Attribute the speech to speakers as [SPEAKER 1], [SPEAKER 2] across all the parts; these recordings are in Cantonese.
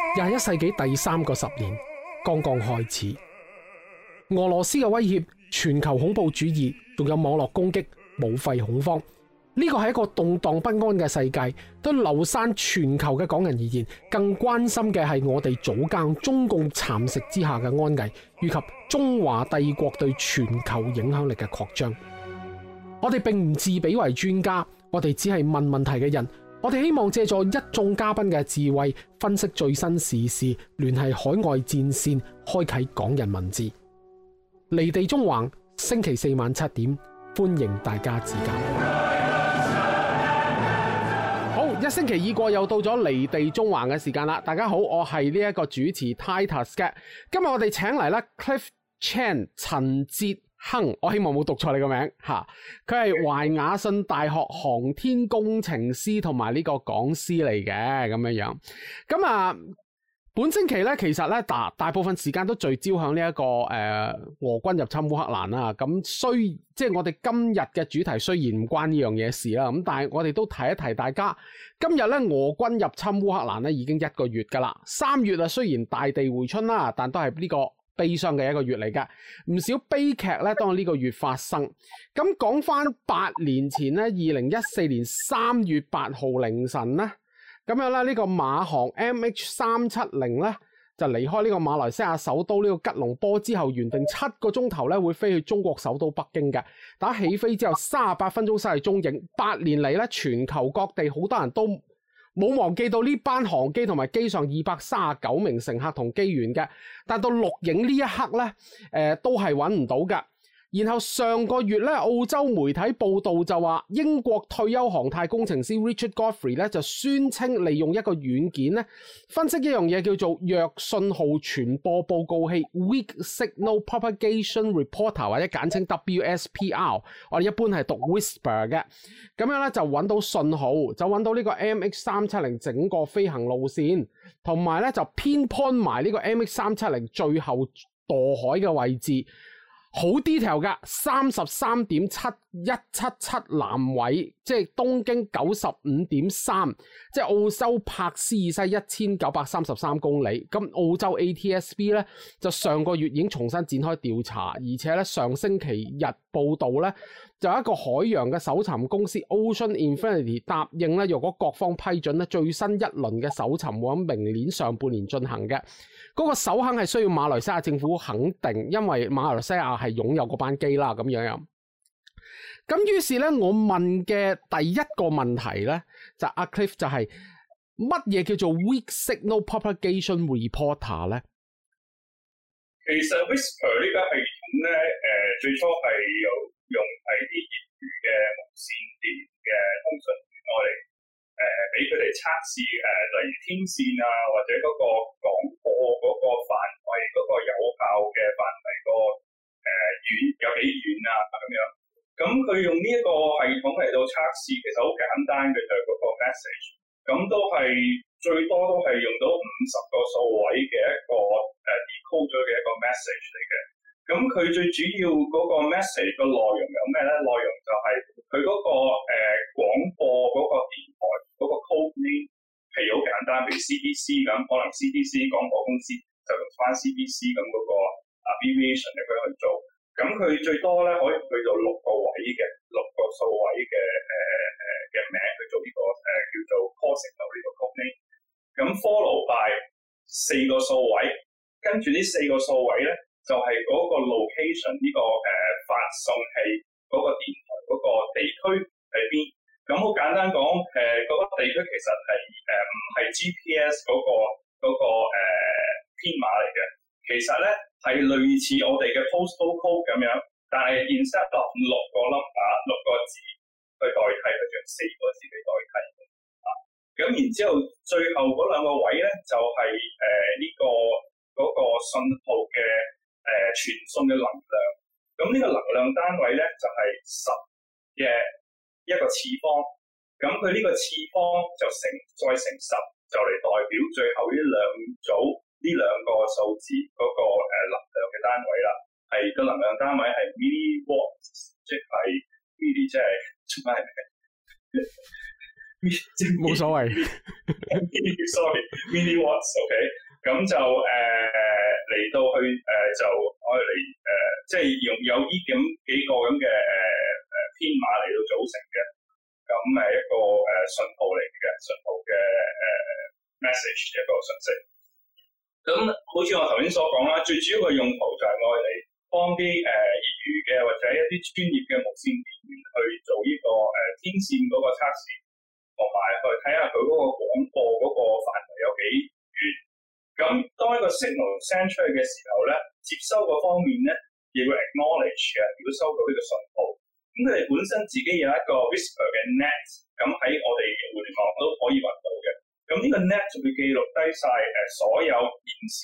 [SPEAKER 1] 21世紀第3個10年剛剛開始，俄羅斯嘅威脅、全球恐怖主義，仲有網絡攻擊、武肺恐慌，呢個係一個動盪不安嘅世界。對流散全球嘅港人而言，更關心嘅係我哋祖家中共蠶食之下嘅安危，以及中華帝國對全球影響力嘅擴張。我哋並唔自比為專家，我哋只係問問題嘅人。我哋希望借助一眾嘉賓嘅智慧，分析最新時事，聯繫海外戰線，開啟港人文字。離地縱橫，星期4晚7點，歡迎大家指教。好，一星期已過，又到咗離地縱橫嘅時間啦！大家好，我係呢一個主持 Titus 嘅。今日我哋請嚟咧 Cliff Chan 陳哲亨，我希望冇讀錯你個名吓。佢係懷雅遜大學航天工程師同埋呢個講師嚟嘅咁樣樣。咁啊，本星期咧，其實咧大部分時間都聚焦向呢一個俄軍入侵烏克蘭啦。咁即係我哋今日嘅主題雖然唔關呢樣嘢事啦，咁但係我哋都提一提大家。今日咧俄軍入侵烏克蘭咧已經1個月噶啦。3月啊，雖然大地回春啦，但都係呢個悲傷嘅1個月嚟㗎，唔少悲劇咧當呢個月發生。咁講翻8年前咧，2014年3月8號凌晨咧，咁樣咧呢個馬航 MH370咧就離開呢個馬來西亞首都呢個吉隆坡之後，原定7個鐘頭咧會飛去中國首都北京嘅。打起飛之後38分鐘失去蹤影。8年嚟咧，全球各地好多人都冇忘記到呢班航機同埋機上239名乘客同機員嘅，但到錄影呢一刻咧，都係揾唔到㗎。然後上個月咧，澳洲媒體報道就話，英國退休航太工程師 Richard Godfrey 咧就宣稱利用一個軟件咧分析一樣嘢叫做弱信號傳播報告器 Weak Signal Propagation Reporter 或者簡稱 WSPR， 我哋一般係讀 Whisper 嘅。咁樣咧就揾到信號，就揾到呢個 MH370 整個飛行路線，同埋咧就偏 point 埋呢個 MH370 最後墮海嘅位置。好 detail 噶，33.7177南緯，即係東經95.3，即係澳洲柏斯以西1933公里。咁澳洲 ATSB 咧就上個月已經重新展開調查，而且咧上星期日報道咧就有一個海洋嘅搜尋公司 Ocean Infinity 答應咧，若果各方批准咧，最新一輪嘅搜尋會喺明年上半年進行嘅。嗰個首肯係需要馬來西亞政府肯定，因為馬來西亞係擁有嗰班機啦，咁樣。咁於是咧，我問嘅第一個問題咧，就阿 Cliff 就係乜嘢叫做 Weak Signal Propagation Reporter 咧？
[SPEAKER 2] 其實 Whisper 呢個系統咧，最初係用係啲業餘嘅無線電嘅通訊員我哋俾佢哋測試例如天線啊，或者嗰個廣播嗰個範圍，嗰個有效嘅範圍個遠有幾遠啊咁樣。咁佢用呢一個系統嚟到測試，其實好簡單嘅，就係嗰個 message。咁都係最多都係用到50個數位嘅一個decode 咗嘅一個 message 嚟嘅。咁佢最主要嗰個 message 個內容有咩咧？內容就係佢嗰個廣播嗰個電台嗰個 code name，譬如好簡單，譬如 CBC 咁，可能 CBC 廣播公司就用翻 CBC 咁嗰個 abbreviation 嚟去做。咁佢最多咧可以去到6個位嘅6個數位嘅名去做呢個叫做 call signal 呢個 code name。咁 follow by 4個數位，跟住呢4個數位咧就係嗰個 location 呢個發送器嗰個電台嗰個地區喺邊。咁好簡單講，嗰個地區其實係唔係 GPS 嗰個編碼嚟嘅，其實咧係類似我哋嘅 postal code 咁樣，但係 instead of 6個 number 6個字去代替，佢用4個字嚟代替啊。咁然之後最後嗰2個位咧就係呢個嗰個信號嘅傳送嘅能量。咁呢個能量單位咧就係10嘅一個次方。咁佢呢個次方就再乘10，就嚟代表最後呢2個數字嗰個能量嘅單位啦。係個能量單位係 milliwatt， 即係 milli 即係做咩？
[SPEAKER 1] 冇所謂。
[SPEAKER 2] sorry，mini watts，OK，咁就嚟到去就可以嚟即係用有呢咁幾個咁嘅編碼嚟到組成嘅，咁一個信號嚟嘅信號嘅message 一個信息。咁好似我頭先所講啦，最主要嘅用途就係愛嚟幫啲業餘嘅或者一啲專業嘅無線電源去做呢個天線嗰個測試，同埋去睇下佢嗰個廣播嗰個範圍有幾遠。咁當一個 signal send 出去嘅時候咧，接收個方面咧亦會 acknowledge 嘅，如果收到呢個信號。咁佢哋本身自己有一個 Whisper 嘅 net， 咁喺我哋互聯網都可以揾到嘅。咁呢個 net 就會記錄低晒所有現時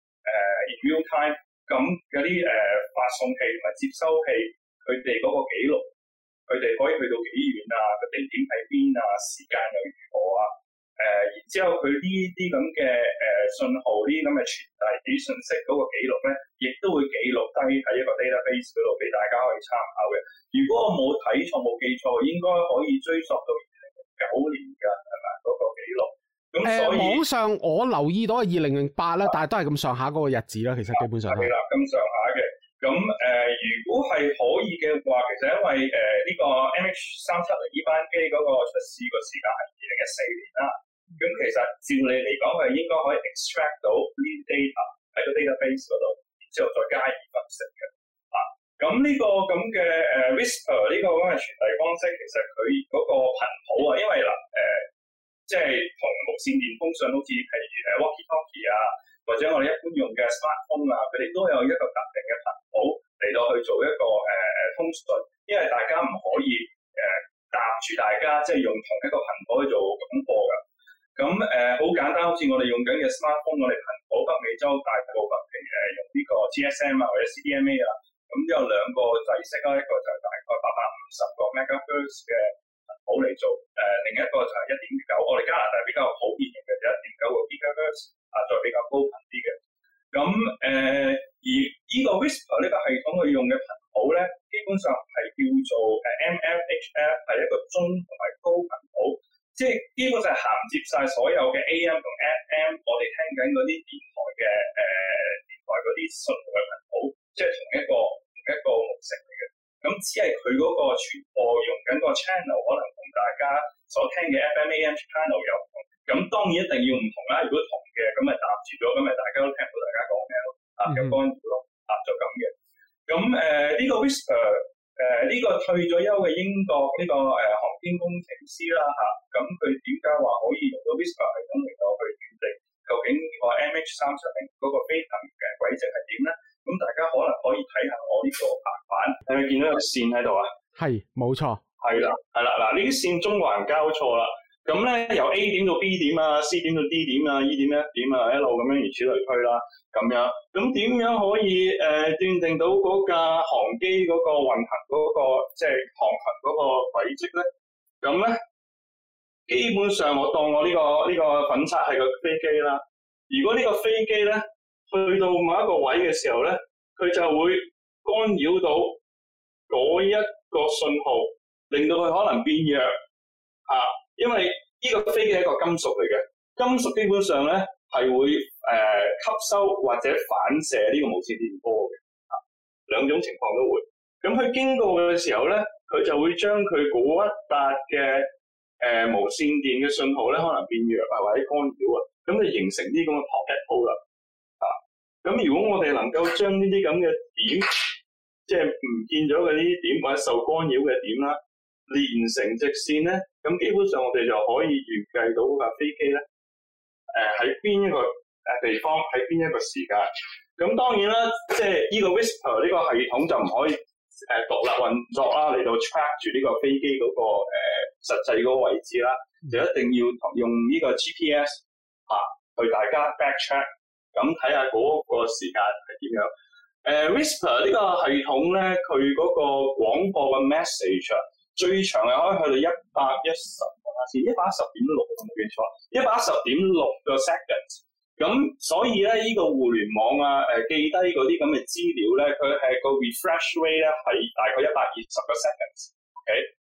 [SPEAKER 2] in real time 咁嗰啲發送器同埋接收器佢哋嗰個記錄，佢哋可以去到幾遠啊？個地點喺邊啊？時間又如何啊？然之後佢呢啲咁嘅信號，呢啲咁嘅傳遞啲信息嗰個記錄咧，亦都會記錄低喺一個 database 嗰度俾大家可以參考嘅。如果我冇睇錯冇記錯，應該可以追溯到2009年㗎，係咪嗰個記錄？咁所以
[SPEAKER 1] 網上我留意到係2008啦，但係都係咁上下嗰個日子啦。其實基本上係啦，
[SPEAKER 2] 咁上下嘅。咁如果係可以嘅話，其實因為呢個 MH370呢班機嗰個出事個時間係2014年啦。咁其實照理嚟講，係應該可以 extract 到呢啲 data 喺個 database 嗰度，然之後再加以分析嘅。咁呢個咁嘅Whisper 呢個咁嘅傳遞方式，其實佢嗰個頻譜啊，因為嗱即係同無線電通訊好似譬如walkie-talkie 啊，或者我哋一般用嘅 smartphone 啊，佢哋都有一個特定嘅頻譜嚟到去做一個通訊，因為大家唔可以搭住大家即係用同一個頻譜去做廣播㗎。咁好簡單，好似我哋用緊嘅 smartphone， 我哋頻譜北美洲大部分譬如用呢個 GSM 啊或者 CDMA 啊，咁有兩個制式啦，一個就係大概850個 megahertz 嘅頻譜嚟做，另一個就係 1.9， 我哋加拿大比較普遍用嘅就 1.9 個 gigahertz 再比較高頻啲嘅。咁而呢個 Whisper 呢個系統佢用嘅頻譜咧，基本上係叫做MFHF， 係一個中同埋高頻譜。即係基本上銜接晒所有嘅 AM 同 FM， 我哋聽緊嗰啲電台嘅電台嗰啲信號嘅頻譜，即係同一個模式嚟嘅。咁只係佢嗰個傳播用緊個 channel， 可能同大家所聽嘅 FM、AM channel 有唔同。咁當然一定要唔同啦。如果同嘅，咁咪搭住咗，咁咪大家都聽到大家講咩咯？有干擾咯，就咁嘅。咁呢個 Whisper。呢個退咗休嘅英國呢個航天工程師啦咁佢點解話可以用到 Whisper 系統嚟到去決定究竟個 MH370嗰個飛行嘅軌跡係點咧？咁大家可能可以睇下我呢個白板，係咪見到有個線喺度啊？係，冇錯。係啦，嗱呢啲線中環交錯啦。咁咧由 A 點到 B 點啊 ，C 點到 D 點啊 ，E 點 F 點啊，一路咁樣如此類推啦，咁樣。咁點樣可以斷定到嗰架航機嗰個運行嗰個即係航行嗰個軌跡咧？咁咧基本上我當我呢個粉刷係個飛機啦。如果呢個飛機咧去到某一個位嘅時候咧，佢就會干擾到嗰一個信號，令到佢可能變弱因為呢個飛機係一個金屬嚟嘅，金屬基本上咧係會吸收或者反射呢個無線電波嘅，兩種情況都會。咁佢經過嘅時候咧，佢就會將佢嗰一笪嘅無線電嘅信號咧，可能變弱或者干擾咁就形成啲咁嘅 pocket hole 啦。咁如果我哋能夠將呢啲咁嘅點，即係唔見咗嘅呢啲點或者受干擾嘅點啦，連成直線咧，咁基本上我哋就可以預計到架飛機咧，喺邊一個地方，喺邊一個時間。咁當然啦，即係呢個 Whisper 呢個系統就唔可以獨立運作啦，嚟到 track 住呢個飛機嗰個實際嗰個位置啦，就一定要用呢個 GPS 去大家 backtrack， 咁睇下嗰個時間係點樣。Whisper 呢個系統咧，佢嗰個廣播嘅 message最長係可以去到110，下次110.6冇記錯，110.6個 seconds。咁所以咧，呢個互聯網記低嗰啲咁嘅資料咧，佢係個 refresh rate 咧係大概120個 seconds。OK，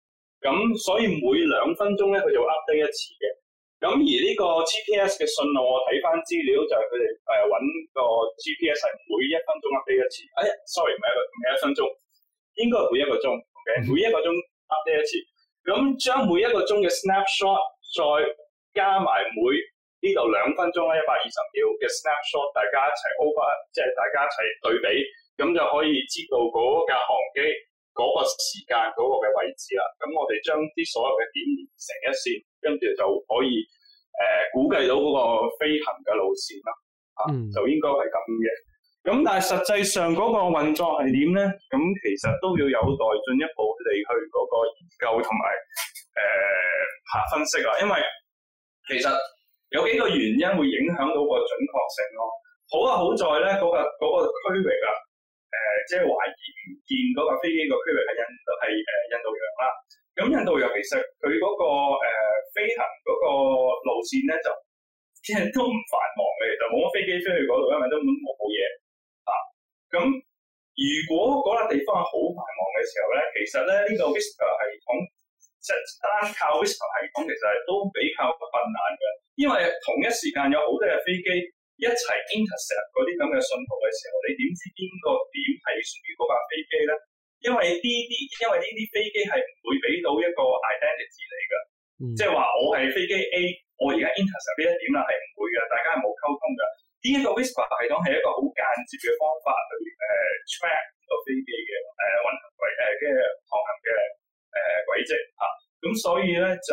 [SPEAKER 2] 咁所以每2分鐘咧佢就 update 一次嘅。咁而呢個 GPS 嘅信號，我睇翻資料就係佢哋揾個 GPS 係每1分鐘 update 一次。sorry 唔係1分鐘，應該係每1個鐘。OK， 每1個鐘 update 一次。咁將每1個鐘嘅 snapshot 再加埋每呢度2分鐘啦，120秒嘅 snapshot， 大家一齊 over， 即係大家一齊對比，咁就可以知道嗰架航機嗰個時間嗰個嘅位置啦。咁我哋將啲所有嘅點連成一線，跟住就可以估計到嗰個飛行嘅路線啦。就應該係咁嘅。咁但係實際上嗰個運作係點咧？咁其實都要有待進一步地去嗰個研究同埋分析啦。因為其實有幾個原因會影響到個準確性咯。好在咧嗰個區域啊，即係懷疑唔見嗰架飛機個區域係印度洋啦。咁印度洋其實佢嗰個飛行嗰個路線咧就即係都唔繁忙嘅，其實冇乜飛機飛去嗰度，因為根本冇嘢。咁如果嗰笪地方係好繁忙嘅時候咧，其實咧呢個 Whisper 系統即係單靠 Whisper 系統其實係都比較困難嘅，因為同一時間有好多嘅飛機一齊 intercept 嗰啲咁嘅信號嘅時候，你點知邊個點係屬於嗰架飛機咧？因為呢啲飛機係唔會俾到一個 identity 嚟㗎，即係話我係飛機 A， 我而家 intercept 呢一點啦，係唔會嘅，大家係冇溝通㗎。呢一個 Whisper 系統係一個好間接嘅方法去track 個飛機嘅運行軌嘅航行嘅軌跡嚇，咁所以咧就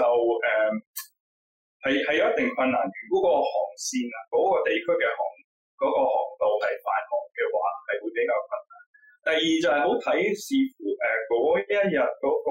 [SPEAKER 2] 係有一定困難。如果個航線啊嗰個地區嘅航道係繁忙嘅話，係會比較困難。第二就係好睇視乎嗰一日嗰個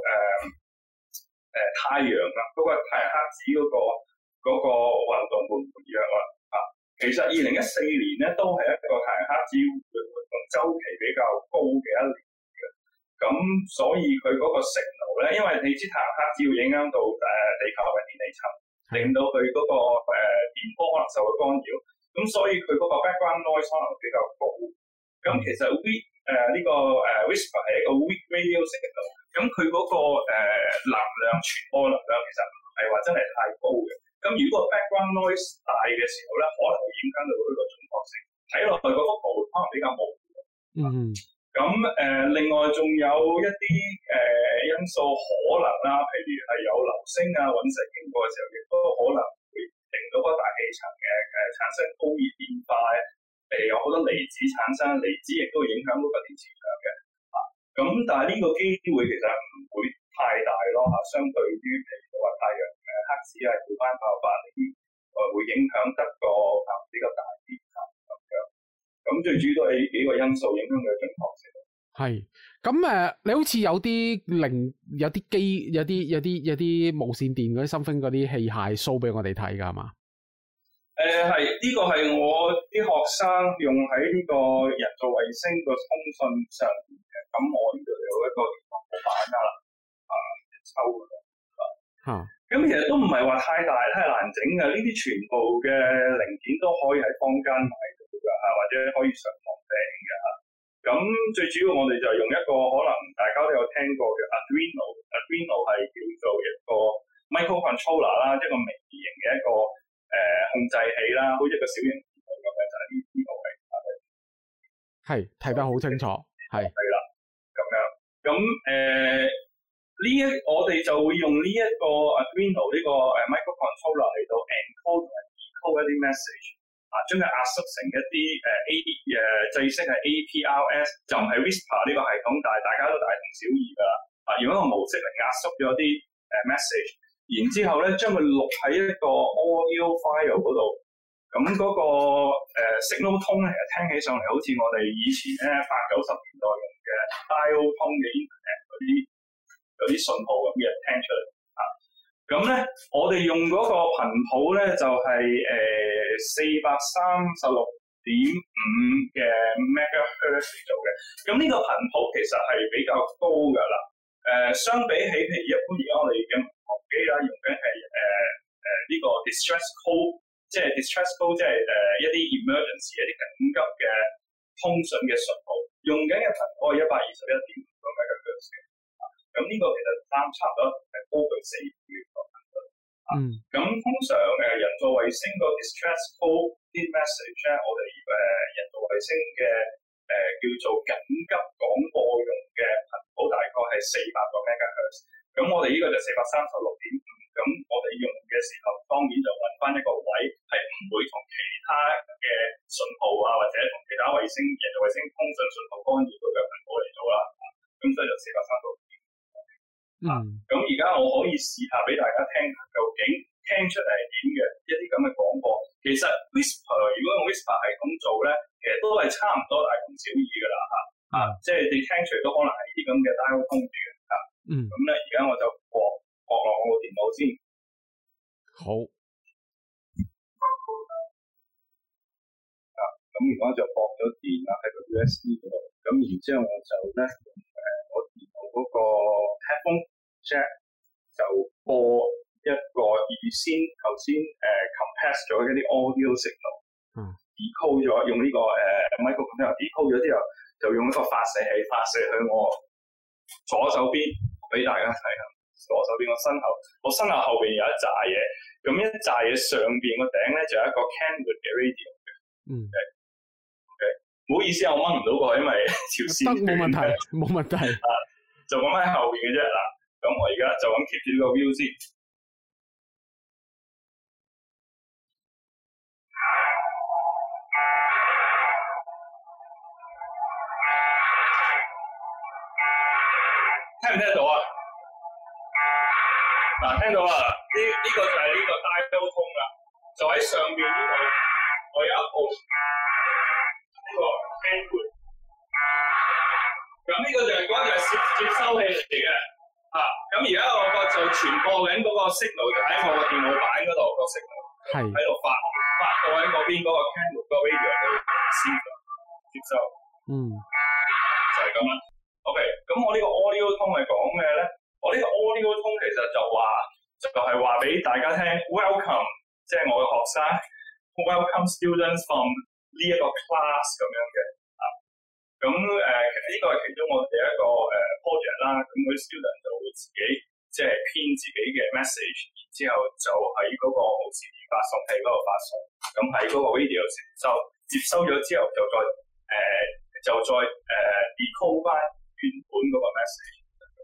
[SPEAKER 2] 太陽啊，嗰個太陽黑子嗰個運動會唔會弱啊？其實2014年咧都係一個太陽黑子活動週期比較高嘅一年嘅，咁所以佢嗰個signal咧，因為你知太陽黑子會影響到地球嘅電離層，令到佢嗰個電波可能受到干擾，咁所以佢嗰個 background noise 可能比較高。咁其實呢個Whisper 係一個 weak radio signal， 咁佢嗰個能量傳播能量其實唔係話真係太高嘅。咁如果 background noise 大嘅時候咧，可能會影響到佢個準確性，睇落去嗰幅圖可能比較模糊。咁另外仲有一啲因素可能啦，譬如係有流星啊、隕石經過嘅時候，亦都可能會令到個大氣層嘅產生高熱變化，有好多離子產生，離子亦都會影響到個電磁場嘅。咁但係呢個機會其實唔會太大咯相對於譬如話太陽黑子係會翻爆發呢啲，會影響得個比較大啲咁樣。咁最主要都係幾個因素影響佢嘅準確性。
[SPEAKER 1] 係咁你好似有啲無線電嗰啲 something 嗰啲器械 show 俾我哋睇㗎係嘛？
[SPEAKER 2] 係呢個係我啲學生用喺呢個人造衛星個通訊上面嘅。咁我呢度有一個電腦板㗎啦，抽㗎啦。咁其實都唔係話太難整嘅，呢啲全部嘅零件都可以喺坊間買到㗎或者可以上網訂嘅嚇。咁最主要我哋就用一個可能大家都有聽過嘅 Arduino 係叫做一個 microcontroller 啦，一個微型嘅一個控制器啦，好似一個小型電腦咁嘅，就係呢個位。
[SPEAKER 1] 係睇得好清楚，係
[SPEAKER 2] 啦，咁樣。咁我哋就會用呢一個 Arduino 呢個microcontroller 嚟到 encode 同埋 decode 一啲 message， 將佢壓縮成一啲制式係 APRS， 就唔係 Whisper 呢個系統，但係大家都大同小異㗎啦。用一個模式嚟壓縮咗啲message， 然之後咧將佢錄喺一個 audio file 嗰度，咁嗰個signal tone 咧，其實聽起上嚟好似我哋以前咧80-90年代用嘅 dial tone 嘅 internet 嗰啲信號咁嘅聽出嚟。咁咧我哋用嗰個頻譜咧就係436.5嘅 megahertz 嚟做嘅。咁呢個頻譜其實係比較高㗎啦。相比起譬如一般而家我哋嘅民航機啦，用緊係呢個 distress code， 即係 distress code， 即係一啲 emergency 一啲緊急嘅通訊嘅信號，用緊嘅頻譜係121.5 MHz 嘅。 咁呢個其實差唔多高佢4倍個頻率。咁通常人造衛星個 distress call 啲 message 咧，我哋人造衛星嘅叫做緊急廣播用嘅頻譜大概係400個 MHz。咁我哋呢個就436.5。咁我哋用嘅時候，當然就揾翻一個位係唔會同其他嘅信號啊，或者同其他衛星人造衛星通訊信號干擾到嘅頻譜嚟做啦。咁所以就436.5。咁而家我可以試下俾大家聽，究竟聽出嚟係點嘅一啲咁嘅廣播。其實 Whisper 如果用 Whisper 系統做咧，其實都係差唔多大同小異㗎啦嚇。即係你聽出嚟都可能係啲咁嘅 dial tone 嘅嚇。咁咧而家我就駁落我個電腦先。
[SPEAKER 1] 好。
[SPEAKER 2] 咁而家就駁咗電啦喺個 USB 嗰度。咁然之後我就咧用我電腦嗰個 headphone jack 就播一個預先頭先compress 咗一啲 audio signal，decode 咗用呢個microcontroller decode 咗之後，就用一個發射器發射去我左手邊俾大家睇下。左手邊我身後後邊有一紮嘢，咁一紮嘢上邊個頂咧就有一個 Kenwood 嘅 radio 嘅。唔好意思，我掹唔到過，因為條線
[SPEAKER 1] 冇問題，冇問題。
[SPEAKER 2] 就咁喺後邊嘅啫嗱。咁我而家就咁 keep 住呢個 view 先。聽唔聽到啊？嗱，聽到啊！呢個就係呢個 dial tone 啦，就喺上面呢度，我有一部呢個 Kenwood。咁呢個就係接收器嚟嘅。咁而家我就傳播緊嗰個 signal 就喺我個電腦板嗰度個 signal， 喺度發到喺嗰邊嗰個 Kenwood 個 radio 度接收。就係咁啦。OK， 咁我呢個 audio tone 係講咩咧？我呢個 audio tone 其實就係話俾大家聽 ，welcome， 即係我嘅學生 ，welcome students from 呢一個 class 咁樣嘅。咁呢個係其中我哋一個project 啦。咁嗰啲 student 就會自己即係編自己嘅 message， 然之後就喺嗰個無線電發送器嗰度發送。咁喺嗰個 radio 接收咗之後，就再decode 翻原本嗰個 message。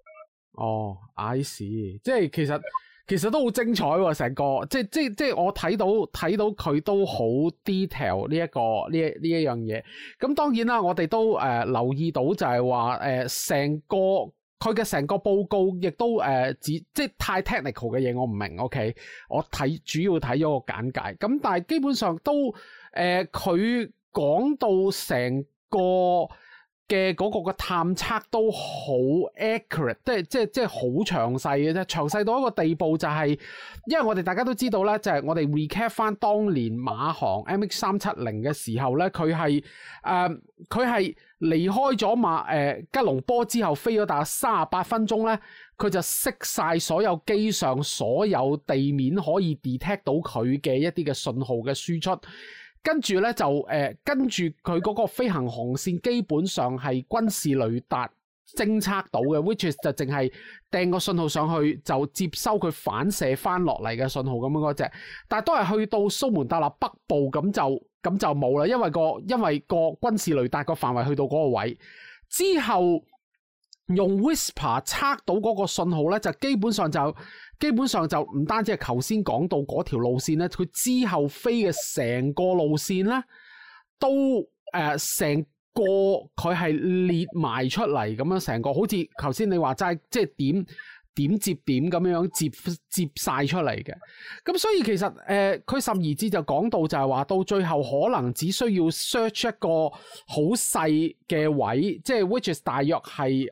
[SPEAKER 1] I see， 即係其實都好精彩喎，成個即係我睇到佢都好 detail 呢一樣嘢。咁當然啦，我哋都留意到就係話佢嘅成個報告亦都即係太 technical 嘅嘢我唔明 ，OK， 我主要睇咗個簡介。咁但係基本上都佢講到成個嘅嗰個嘅探測都好 accurate， 即係好詳細嘅啫，詳細到一個地步就係，因為我哋大家都知道咧，就係我哋 recap 翻當年馬航 MH370嘅時候咧，佢係離開咗吉隆坡之後飛咗大概38分鐘咧，佢就熄晒所有機上所有地面可以 detect 到佢嘅一啲嘅信號嘅輸出。跟住咧就跟住佢嗰個飛行航線基本上係軍事雷達偵測到嘅 ，which is 就淨係掟個信號上去就接收佢反射翻落嚟嘅信號咁樣嗰隻，但係都係去到蘇門答臘北部咁就冇啦，因為個軍事雷達個範圍去到嗰個位之後，用 Whisper 測到嗰個信號咧，就基本上就唔單止係頭先講到嗰條路線咧，佢之後飛嘅成個路線咧，都成個佢係列埋出嚟咁樣，成個好似頭先你話齋，即係點接點咁樣接晒出嚟嘅。咁所以其實佢甚而至就講到就係話，到最後可能只需要 search 一個好細嘅位，即係 which is 大約係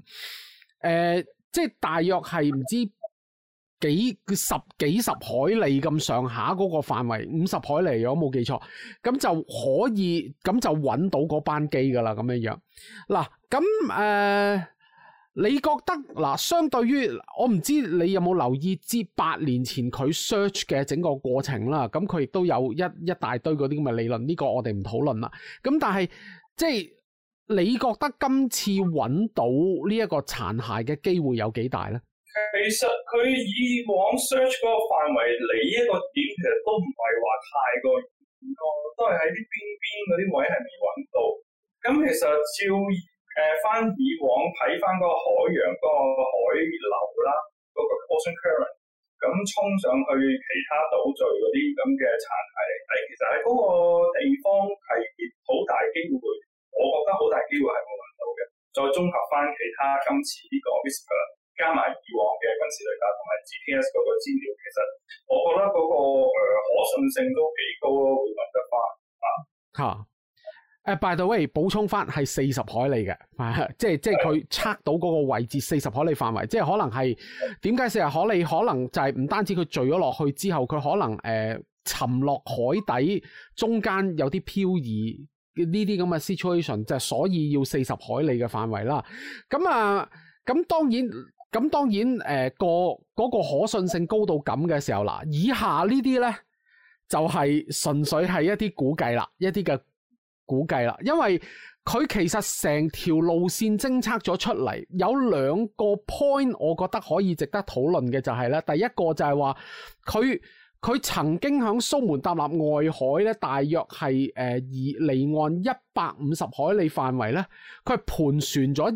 [SPEAKER 1] 即係大約係唔知幾十海里咁上下嗰個範圍，50海里如果冇記錯，咁就可以咁就揾到嗰班機噶啦，咁樣樣。嗱，咁你覺得嗱，相對於我唔知你有冇留意至8年前佢 search 嘅整個過程啦，咁佢亦都有一大堆嗰啲咁嘅理論，呢個我哋唔討論啦。咁但係即係你覺得今次揾到呢一個殘骸嘅機會有幾大咧？
[SPEAKER 2] 其實佢以往 search 嗰個範圍嚟呢一個點，其實都唔係話太過遠咯，都係喺啲邊嗰啲位係未揾到。咁其實照翻以往睇翻嗰個海洋嗰個海流啦，嗰個 ocean current， 咁衝上去其他島嶼嗰啲咁嘅殘骸嚟睇，其實喺嗰個地方係好大機會，我覺得好大機會係冇揾到嘅。再綜合翻其他今次呢個 Whisper 加埋以往嘅軍事雷達同埋 GPS 嗰個資料，其實我覺得嗰個可信性都幾高咯，會揾得翻啊。
[SPEAKER 1] by the way， 補充翻係40海里嘅，即係佢測到嗰個位置40海里範圍，即係可能係點解40海里？可能就係唔單止佢墜咗落去之後，佢可能沉落海底，中間有啲漂移呢啲咁嘅 situation， 就係所以要40海里嘅範圍啦。咁當然嗰個可信性高到咁嘅時候啦，以下呢啲呢，就係純粹係一啲估計啦，一啲嘅估計啦，因為佢其實成條路線偵測咗出嚟，有2個 point， 我覺得可以值得討論嘅就係咧，第一個就係話佢曾經響蘇門答臘外海咧，大約係離岸150海里範圍咧，佢係盤旋咗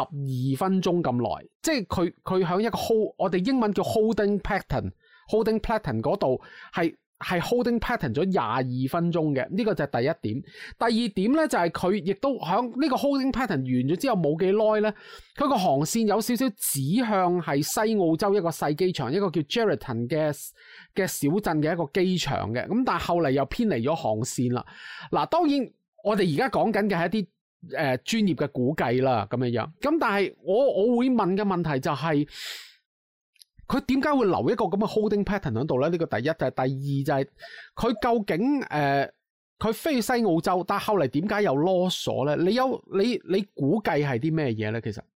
[SPEAKER 1] 22分鐘咁耐，即係佢響一個 我哋英文叫 holding pattern 嗰度係 holding pattern 咗22分鐘嘅，呢個就係第一點。第二點咧就係佢亦都響呢個 holding pattern 完咗之後冇幾耐咧，佢個航線有少少指向係西澳洲一個細機場，一個叫 Geraldton 嘅小鎮嘅一個機場嘅。咁但係後嚟又偏離咗航線啦。嗱，當然我哋而家講緊嘅係一啲專業嘅估計啦，咁樣樣。咁但係我會問嘅問題就係，佢點解會留一個咁嘅 holding pattern 喺度咧？呢個第一，就係第二就係佢究竟佢飛去西澳洲，但係後嚟點解又 lost 咗咧？你估計係啲咩嘢咧？其實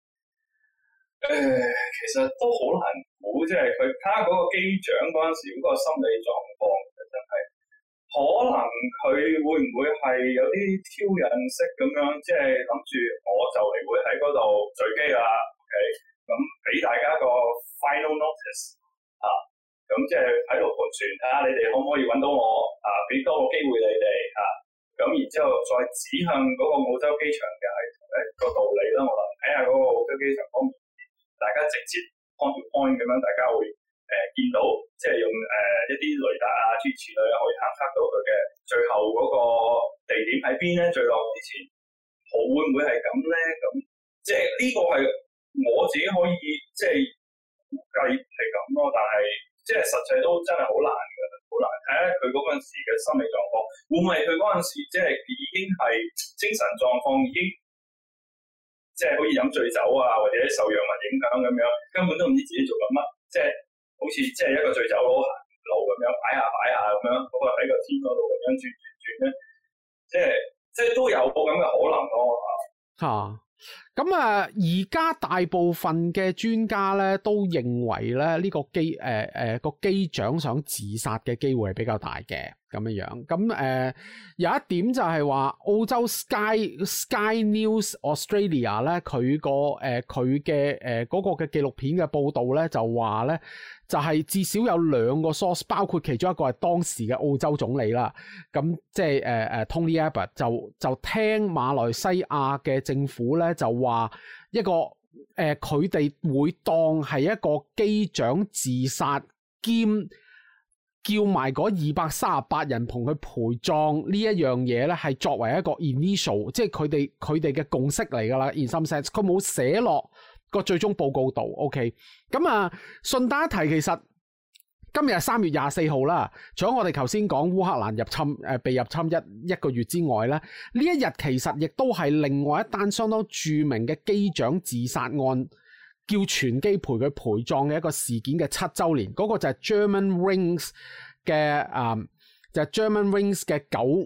[SPEAKER 2] 其實都好難估，即係佢睇下嗰個機長嗰陣時嗰個心理狀況，真係可能佢會唔會係有啲挑釁式咁樣，即係諗住我就嚟會喺嗰度墜機啦。OK，咁俾大家個 final notice 咁即係喺度盤旋，睇下你哋可唔可以揾到我俾多個機會你哋咁然之後再指向嗰個澳洲機場嘅個道理啦。我諗睇下嗰個澳洲機場方面，大家直接 point to point 咁樣，大家會見到，即係用一啲雷達諸如此類可以探測到佢嘅最後嗰個地點喺邊咧？墜落之前會唔會係咁咧？咁即係呢個係我自己可以即係估計係咁咯，但係即係實際都真係好難嘅，好難睇下佢嗰陣時嘅心理狀況，會唔會佢嗰陣時即係已經係精神狀況已經即係好似飲醉酒或者受藥物影響咁樣，根本都唔知自己做緊乜，即係好似即係一個醉酒佬行路咁樣擺下咁樣，嗰個喺個天嗰度咁樣轉咧，即係都有個咁嘅可能咯
[SPEAKER 1] 咁而家大部分嘅專家咧都認為咧呢個機長想自殺嘅機會係比較大嘅咁樣。咁有一點就係話澳洲 Sky News Australia 咧佢嘅嗰個嘅紀錄片嘅報導咧就話咧就係至少有2個 source， 包括其中一個係當時嘅澳洲總理啦。咁即係Tony Abbott 就聽馬來西亞嘅政府咧就話一個佢哋會當係一個機長自殺兼叫埋嗰238人同佢陪葬呢一樣嘢咧，係作為一個 initial， 即係佢哋嘅共識嚟噶啦。In some sense， 佢冇寫落個最終報告度。OK， 咁順帶一提，其實今日係3月24號啦。除咗我哋頭先講烏克蘭入侵被入侵一個月之外咧，呢一日其實亦都係另外一單相當著名嘅機長自殺案，叫全機陪佢陪葬嘅一個事件嘅7週年。嗰個就係 Germanwings 嘅就係 Germanwings 嘅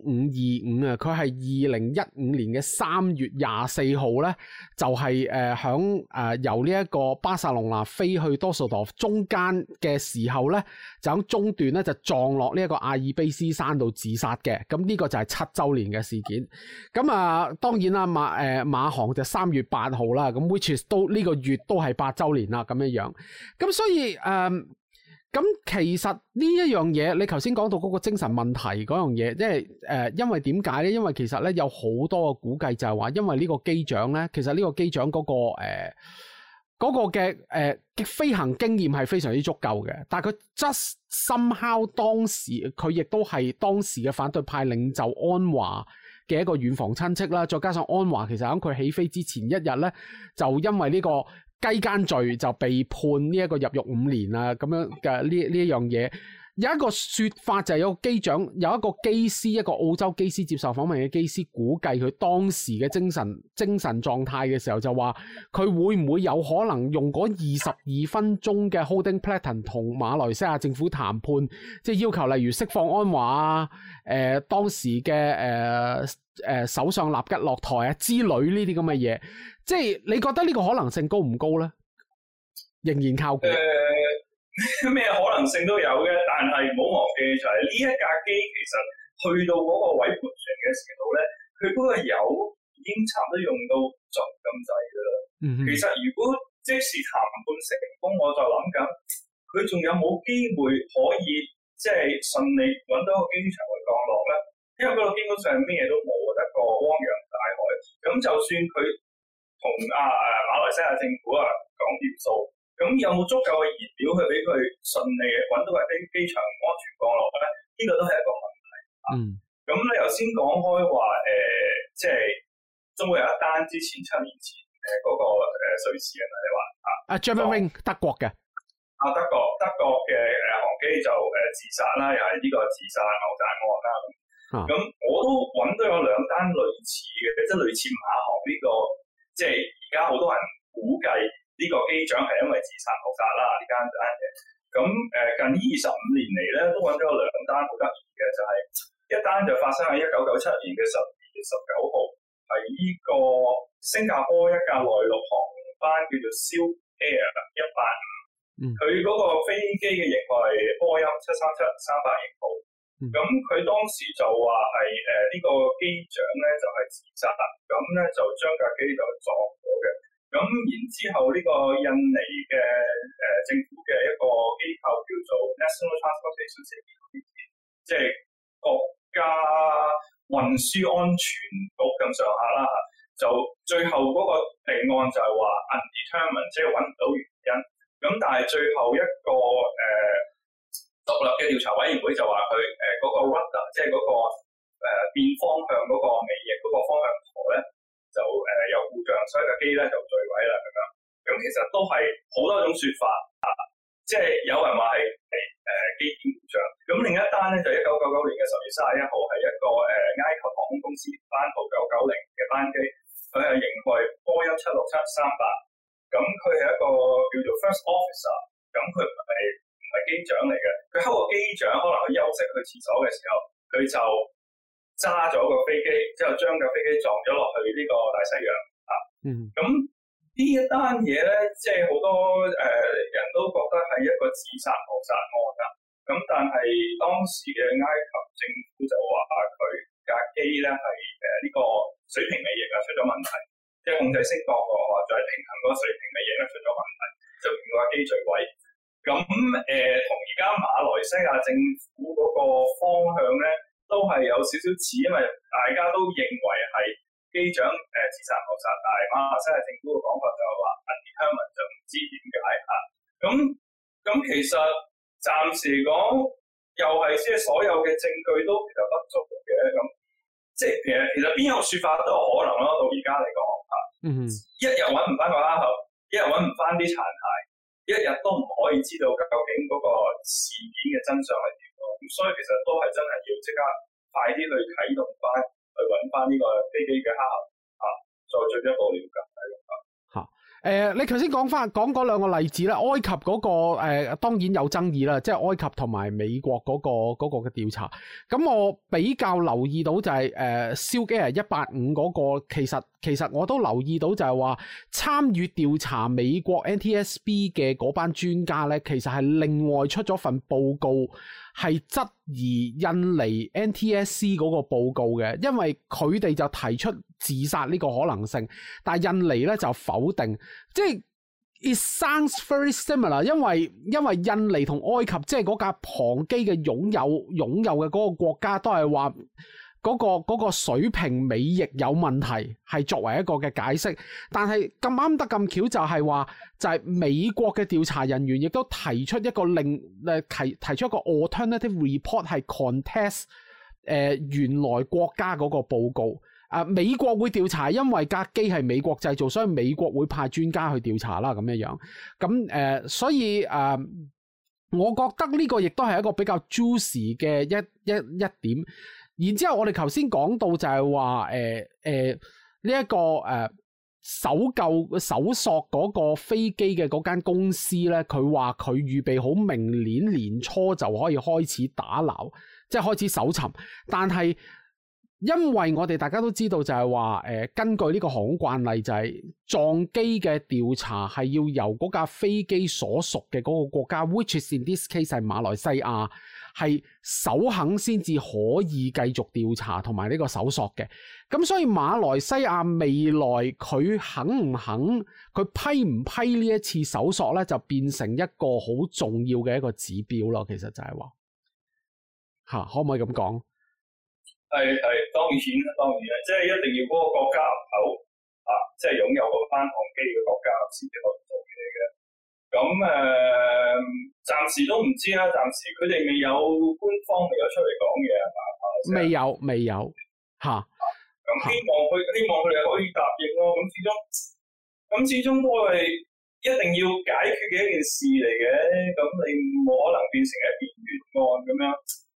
[SPEAKER 1] 9525啊，佢係2015年嘅3月24號咧，就係響由呢一個巴塞隆納飛去多索多夫中間嘅時候咧，就喺中段咧就撞落呢一個阿爾卑斯山度自殺嘅。咁呢個就係7週年嘅事件。咁當然啦，馬航就3月8號啦，咁 which is 都呢個月都係8週年啦，咁樣樣。咁所以咁其實呢一樣嘢，你頭先講到嗰個精神問題嗰樣嘢，即係因為點解咧？因為其實咧有好多個估計就係話，因為呢個機長咧，其實呢個機長嗰個嘅飛行經驗係非常之足夠嘅，但係佢 just somehow 當時佢亦都係當時嘅反對派領袖安華嘅一個遠房親戚啦，再加上安華其實喺佢起飛之前一日咧，就因為呢個雞姦罪就被判呢一個入獄5年啊，咁樣嘅呢一樣嘢。有一個說法就係有個機長，有一個機師，一個澳洲機師接受訪問嘅機師估計佢當時嘅精神狀態嘅時候，就話佢會唔會有可能用嗰22分鐘嘅 holding pattern 同馬來西亞政府談判，即係要求例如釋放安華啊，當時嘅首相納吉落台啊之類呢啲咁嘅嘢，即係你覺得呢個可能性高唔高咧？仍然靠估。
[SPEAKER 2] 咩可能性都有嘅，但係唔好忘記就係呢一架機其實去到嗰個位盤旋嘅時候咧，佢嗰個油已經差唔多用到盡咁滯噶啦。其實如果即使談判成功，我就諗緊佢仲有冇機會可以即係順利揾到個機場去降落咧？因為嗰度基本上咩都冇，得個汪洋大海。咁就算佢同馬來西亞政府講掂數。咁有冇足夠嘅燃料去俾佢順利揾到個機場安全降落咧？呢個都係一個問題。咁你頭先講開話即係中國有一單之前7年前嗰個瑞士人你話
[SPEAKER 1] Germanwings 德國嘅
[SPEAKER 2] 德國嘅航機就自殺啦，又係呢個自殺謀殺案啦。咁我都揾到有2單類似嘅，即係類似馬航呢個，即係而家好多人估計。呢個機長係因為自殺謀殺啦，呢單嘢。咁近呢25年嚟咧，都揾咗2單好得意嘅，就係一單就發生喺1997年嘅12月19號，係呢個新加坡一架內陸航班叫做 Silk Air 185，佢嗰個飛機嘅型號係波音737-300型號。咁佢當時就話係呢個機長咧就係自殺，咁咧就將架機就撞咗嘅。咁然之後呢個印尼嘅政府嘅一個機構叫做 National Transportation Safety， 即係國家運輸安全局咁上下啦，就最後嗰個定案就係話 undetermined， 即係揾唔到原因。咁但係最後一個獨立嘅調查委員會就話佢嗰個 rudder， 即係嗰個變方向嗰個尾翼嗰個方向舵咧，就有故障，所以架機咧就墜毀啦咁樣。咁其實都係好多種説法即係有人話係機件故障。咁另一單咧就1999年嘅10月31號係一個埃及航空公司班號990嘅班機，佢係型號波音767-300。咁佢係一個叫做 first officer， 咁佢唔係機長嚟嘅。佢喺個機長可能去休息去廁所嘅時候，佢就揸咗個飛機，之後將架飛機撞咗落去呢個大西洋咁呢一單嘢咧，即係好多人都覺得係一個自殺謀殺案啦。咁但係當時嘅埃及政府就話佢架機咧係呢個水平尾翼出咗問題，即係控制升降或者係平衡嗰個水平尾翼出咗問題，就令到架機墜毀。咁同而家馬來西亞政府嗰個方向咧，都係有少少似，因為大家都認為係機長自殺謀殺，但係馬來西亞政府嘅講法就係話 undetermined， 就唔知點解咁其實暫時嚟講，又係即係所有嘅證據都其實不足嘅咁，即係其實邊有説法都有可能咯。到而家嚟講一日揾唔翻個蝦頭，一日揾唔翻啲殘骸，一日都唔可以知道究竟嗰個事件嘅真相係點。咁所以其實都係真係要即刻快啲去啟動翻，去揾翻呢個飛機嘅黑盒再進一步了解。
[SPEAKER 1] 你頭先講嗰兩個例子咧，埃及嗰個當然有爭議啦，即係埃及同埋美國嗰個嘅調查。咁我比較留意到就係Silk Air 185嗰個，其實我都留意到就係話參與調查美國 NTSB 嘅嗰班專家咧，其實係另外出咗份報告，係質疑印尼 NTSC 嗰個報告嘅，因為佢哋就提出自殺呢個可能性，但係印尼咧就否定，即係 it sounds very similar， 因為印尼同埃及即係嗰架龐機嘅擁有嘅嗰個國家都係話嗰個水平尾翼有問題，係作為一個嘅解釋，但係咁啱得咁巧就係話就係美國嘅調查人員亦都提出一個提出一個 alternative report 係 contest 原來國家嗰個報告。美國會調查，因為架機係美國製造，所以美國會派專家去調查啦，咁樣。咁所以我覺得呢個亦都係一個比較 juicy 嘅一點。然之後我哋頭先講到就係話呢一個搜索嗰個飛機嘅嗰間公司咧，佢話佢預備好明年年初就可以開始打撈，即係開始搜尋，但係因為我哋大家都知道就係話根據呢個航空慣例就係撞機嘅調查係要由嗰架飛機所屬嘅嗰個國家 which is in this case 係馬來西亞，係首肯先至可以繼續調查同埋呢個搜索嘅。咁所以馬來西亞未來佢肯唔肯，佢批唔批呢一次搜索咧，就變成一個好重要嘅一個指標咯。其實就係話可唔可以咁講？
[SPEAKER 2] 係當然，即係一定要嗰個國家入口即係擁有嗰班航機嘅國家先至可以做嘢嘅。咁暫時都唔知啦，暫時佢哋未有官方未有出嚟講嘢係嘛？未有嚇。咁希望佢哋可以答應咯。咁始終都係一定要解決嘅一件事嚟嘅。咁你冇可能變成一件懸案咁樣。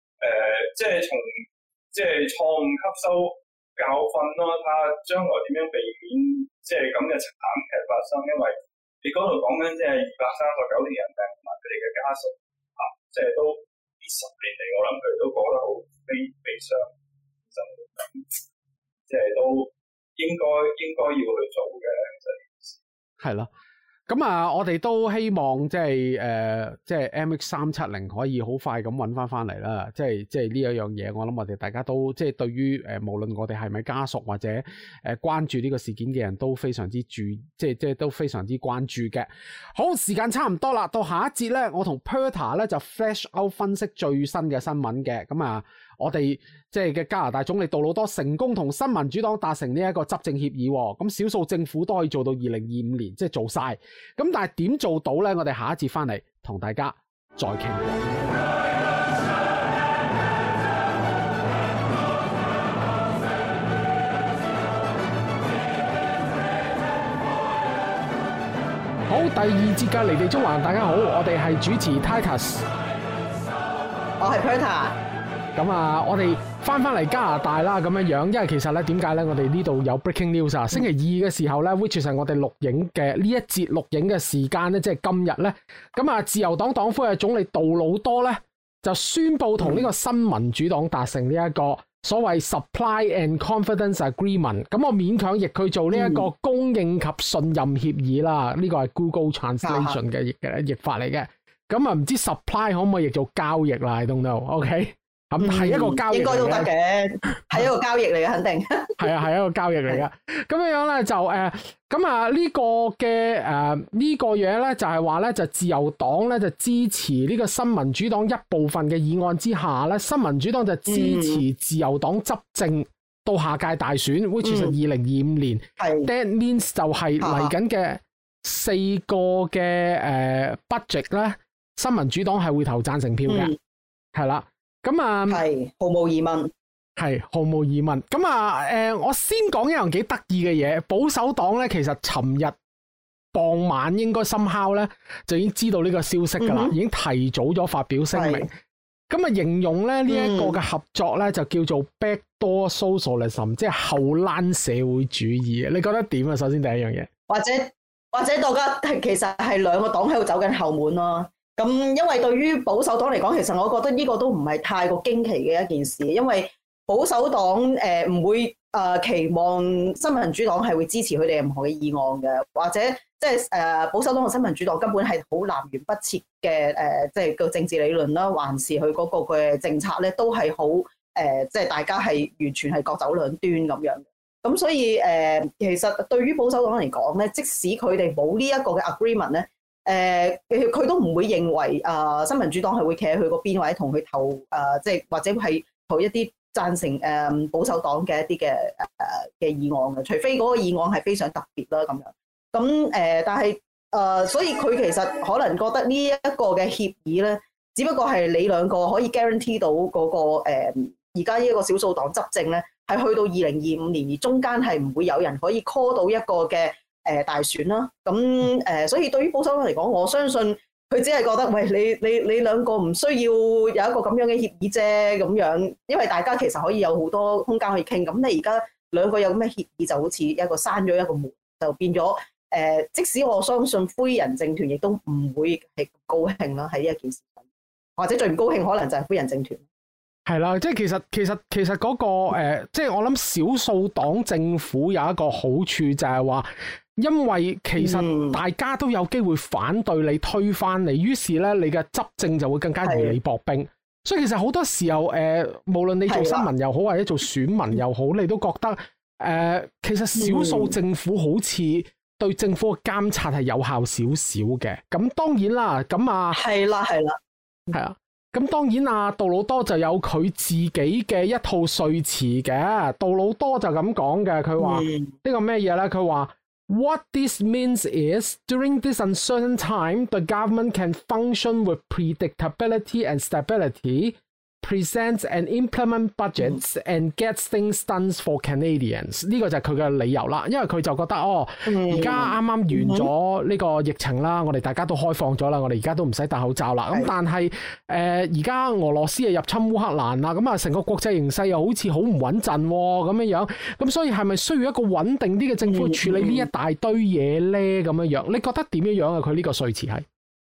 [SPEAKER 2] 即係錯誤吸收教訓咯，睇下將來點樣避免即係咁嘅慘劇發生。因為你嗰度講緊即係239條人命同埋佢哋嘅家屬即係都呢10年嚟，我諗佢哋都過得好悲傷，即係都應該要去做嘅。係咯。咁
[SPEAKER 1] 我哋都希望即係 MH370 可以好快咁揾翻嚟啦。即係呢一樣嘢，我諗我哋大家都即係對於無論我哋係咪家屬或者關注呢個事件嘅人都非常之即係都非常之關注嘅。好，時間差唔多啦，到下一節咧，我同 Perta 咧就 flash out 分析最新嘅新聞嘅。咁我哋即係嘅加拿大總理杜魯多成功同新民主黨達成呢一個執政協議，咁少數政府都可以做到2025年，即係做晒。咁但係點做到呢？我哋下一節翻嚟同大家再傾過。好，第二節嘅離地縱橫，大家好，我哋係主持 Titus，
[SPEAKER 3] 我係 Perta。
[SPEAKER 1] 咁我哋翻嚟加拿大啦，咁樣，因為其實咧，點解咧？我哋呢度有 breaking news 啊！星期二嘅時候咧 ，which 係我哋錄影嘅呢一節錄影嘅時間咧，即係今日咧。咁自由黨黨魁嘅總理杜魯多咧，就宣布同呢個新民主黨達成呢一個所謂 supply and confidence agreement。咁我勉強譯佢做呢一個供應及信任協議啦。呢個係 Google Translation 嘅譯法嚟嘅。咁唔知 supply 可唔可以譯做交易啦 ？I don't know。OK。咁係一個交易，應該都得嘅，係一個交易嚟嘅，肯定係一個交易嚟嘅。咁樣咧就呢個嘅呢個嘢咧就係話咧就自由黨咧就支持呢個新民主黨一部分嘅議案之下咧，新民主黨就支持自由黨執政到下屆大選，which is 2025年。That means 就係嚟緊嘅4個嘅budget 咧，新民主黨係會投贊成票嘅，係啦。咁
[SPEAKER 3] 係毫無疑問，
[SPEAKER 1] 係毫無疑問。咁我先講一樣幾得意嘅嘢。保守黨咧，其實尋日傍晚應該somehow咧就已經知道呢個消息噶啦，已經提早咗發表聲明。咁形容咧呢一個嘅合作咧就叫做 backdoor socialism，即係後欄社會主義。你覺得點啊？首先第一樣嘢，
[SPEAKER 3] 或者或者大家其實係兩個黨喺度走緊後門咯。咁因為對於保守黨嚟講，其實我覺得呢個都唔係太過驚奇嘅一件事，因為保守黨唔會期望新民主黨係會支持佢哋任何嘅議案嘅，或者即係保守黨同新民主黨根本係好南轅北轍嘅即係個政治理論啦，還是佢嗰個嘅政策咧都係好即係大家係完全係各走兩端咁樣。咁所以其實對於保守黨嚟講咧，即使佢哋冇呢一個嘅 agreement 咧，佢都唔會認為新民主黨係會企喺佢嗰邊，或者同佢投即係或者係投一啲贊成保守黨嘅一啲嘅議案嘅，除非嗰個議案係非常特別啦咁樣。咁但係所以佢其實可能覺得呢一個嘅協議咧，只不過係你兩個可以 guarantee 到嗰個而家呢一個少數黨執政咧，係去到2025年，而中間係唔會有人可以 call 到一個嘅大選啦。咁所以對於保守黨嚟講，我相信佢只係覺得，喂，你兩個唔需要有一個咁樣嘅協議啫，咁樣，因為大家其實可以有好多空間可以傾。咁你而家兩個有咁嘅協議，就好似一個閂咗一個門，就變咗即使我相信灰人政團亦都唔會係高興啦喺呢一件事上，或者最唔高興可能就係灰人政團。
[SPEAKER 1] 係啦，即係其實嗰個即係我諗少數黨政府有一個好處就係話，因為其實大家都有機會反對你推翻你，於是咧你嘅執政就會更加如履薄冰。所以其實好多時候無論你做新聞又好或者做選民又好，你都覺得其實少數政府好似對政府嘅監察係有效少少嘅。咁當然啦，咁係啊。咁當然杜魯多就有佢自己嘅一套說辭嘅。杜魯多就咁講嘅，佢話呢個咩嘢咧？佢話 What this means is during this uncertain time, the government can function with predictability and stability, present and implement budgets and get things done for Canadians。呢個就係佢嘅理由啦，因為佢就覺得而家啱啱完咗呢個疫情啦，我哋大家都開放咗啦，我哋而家都唔使戴口罩啦。咁但係而家俄羅斯又入侵烏克蘭啦，咁成個國際形勢又好似好唔穩陣咁樣，咁所以係咪需要一個穩定啲嘅政府去處理呢一大堆嘢咧？咁樣你覺得點樣啊？佢呢個說辭係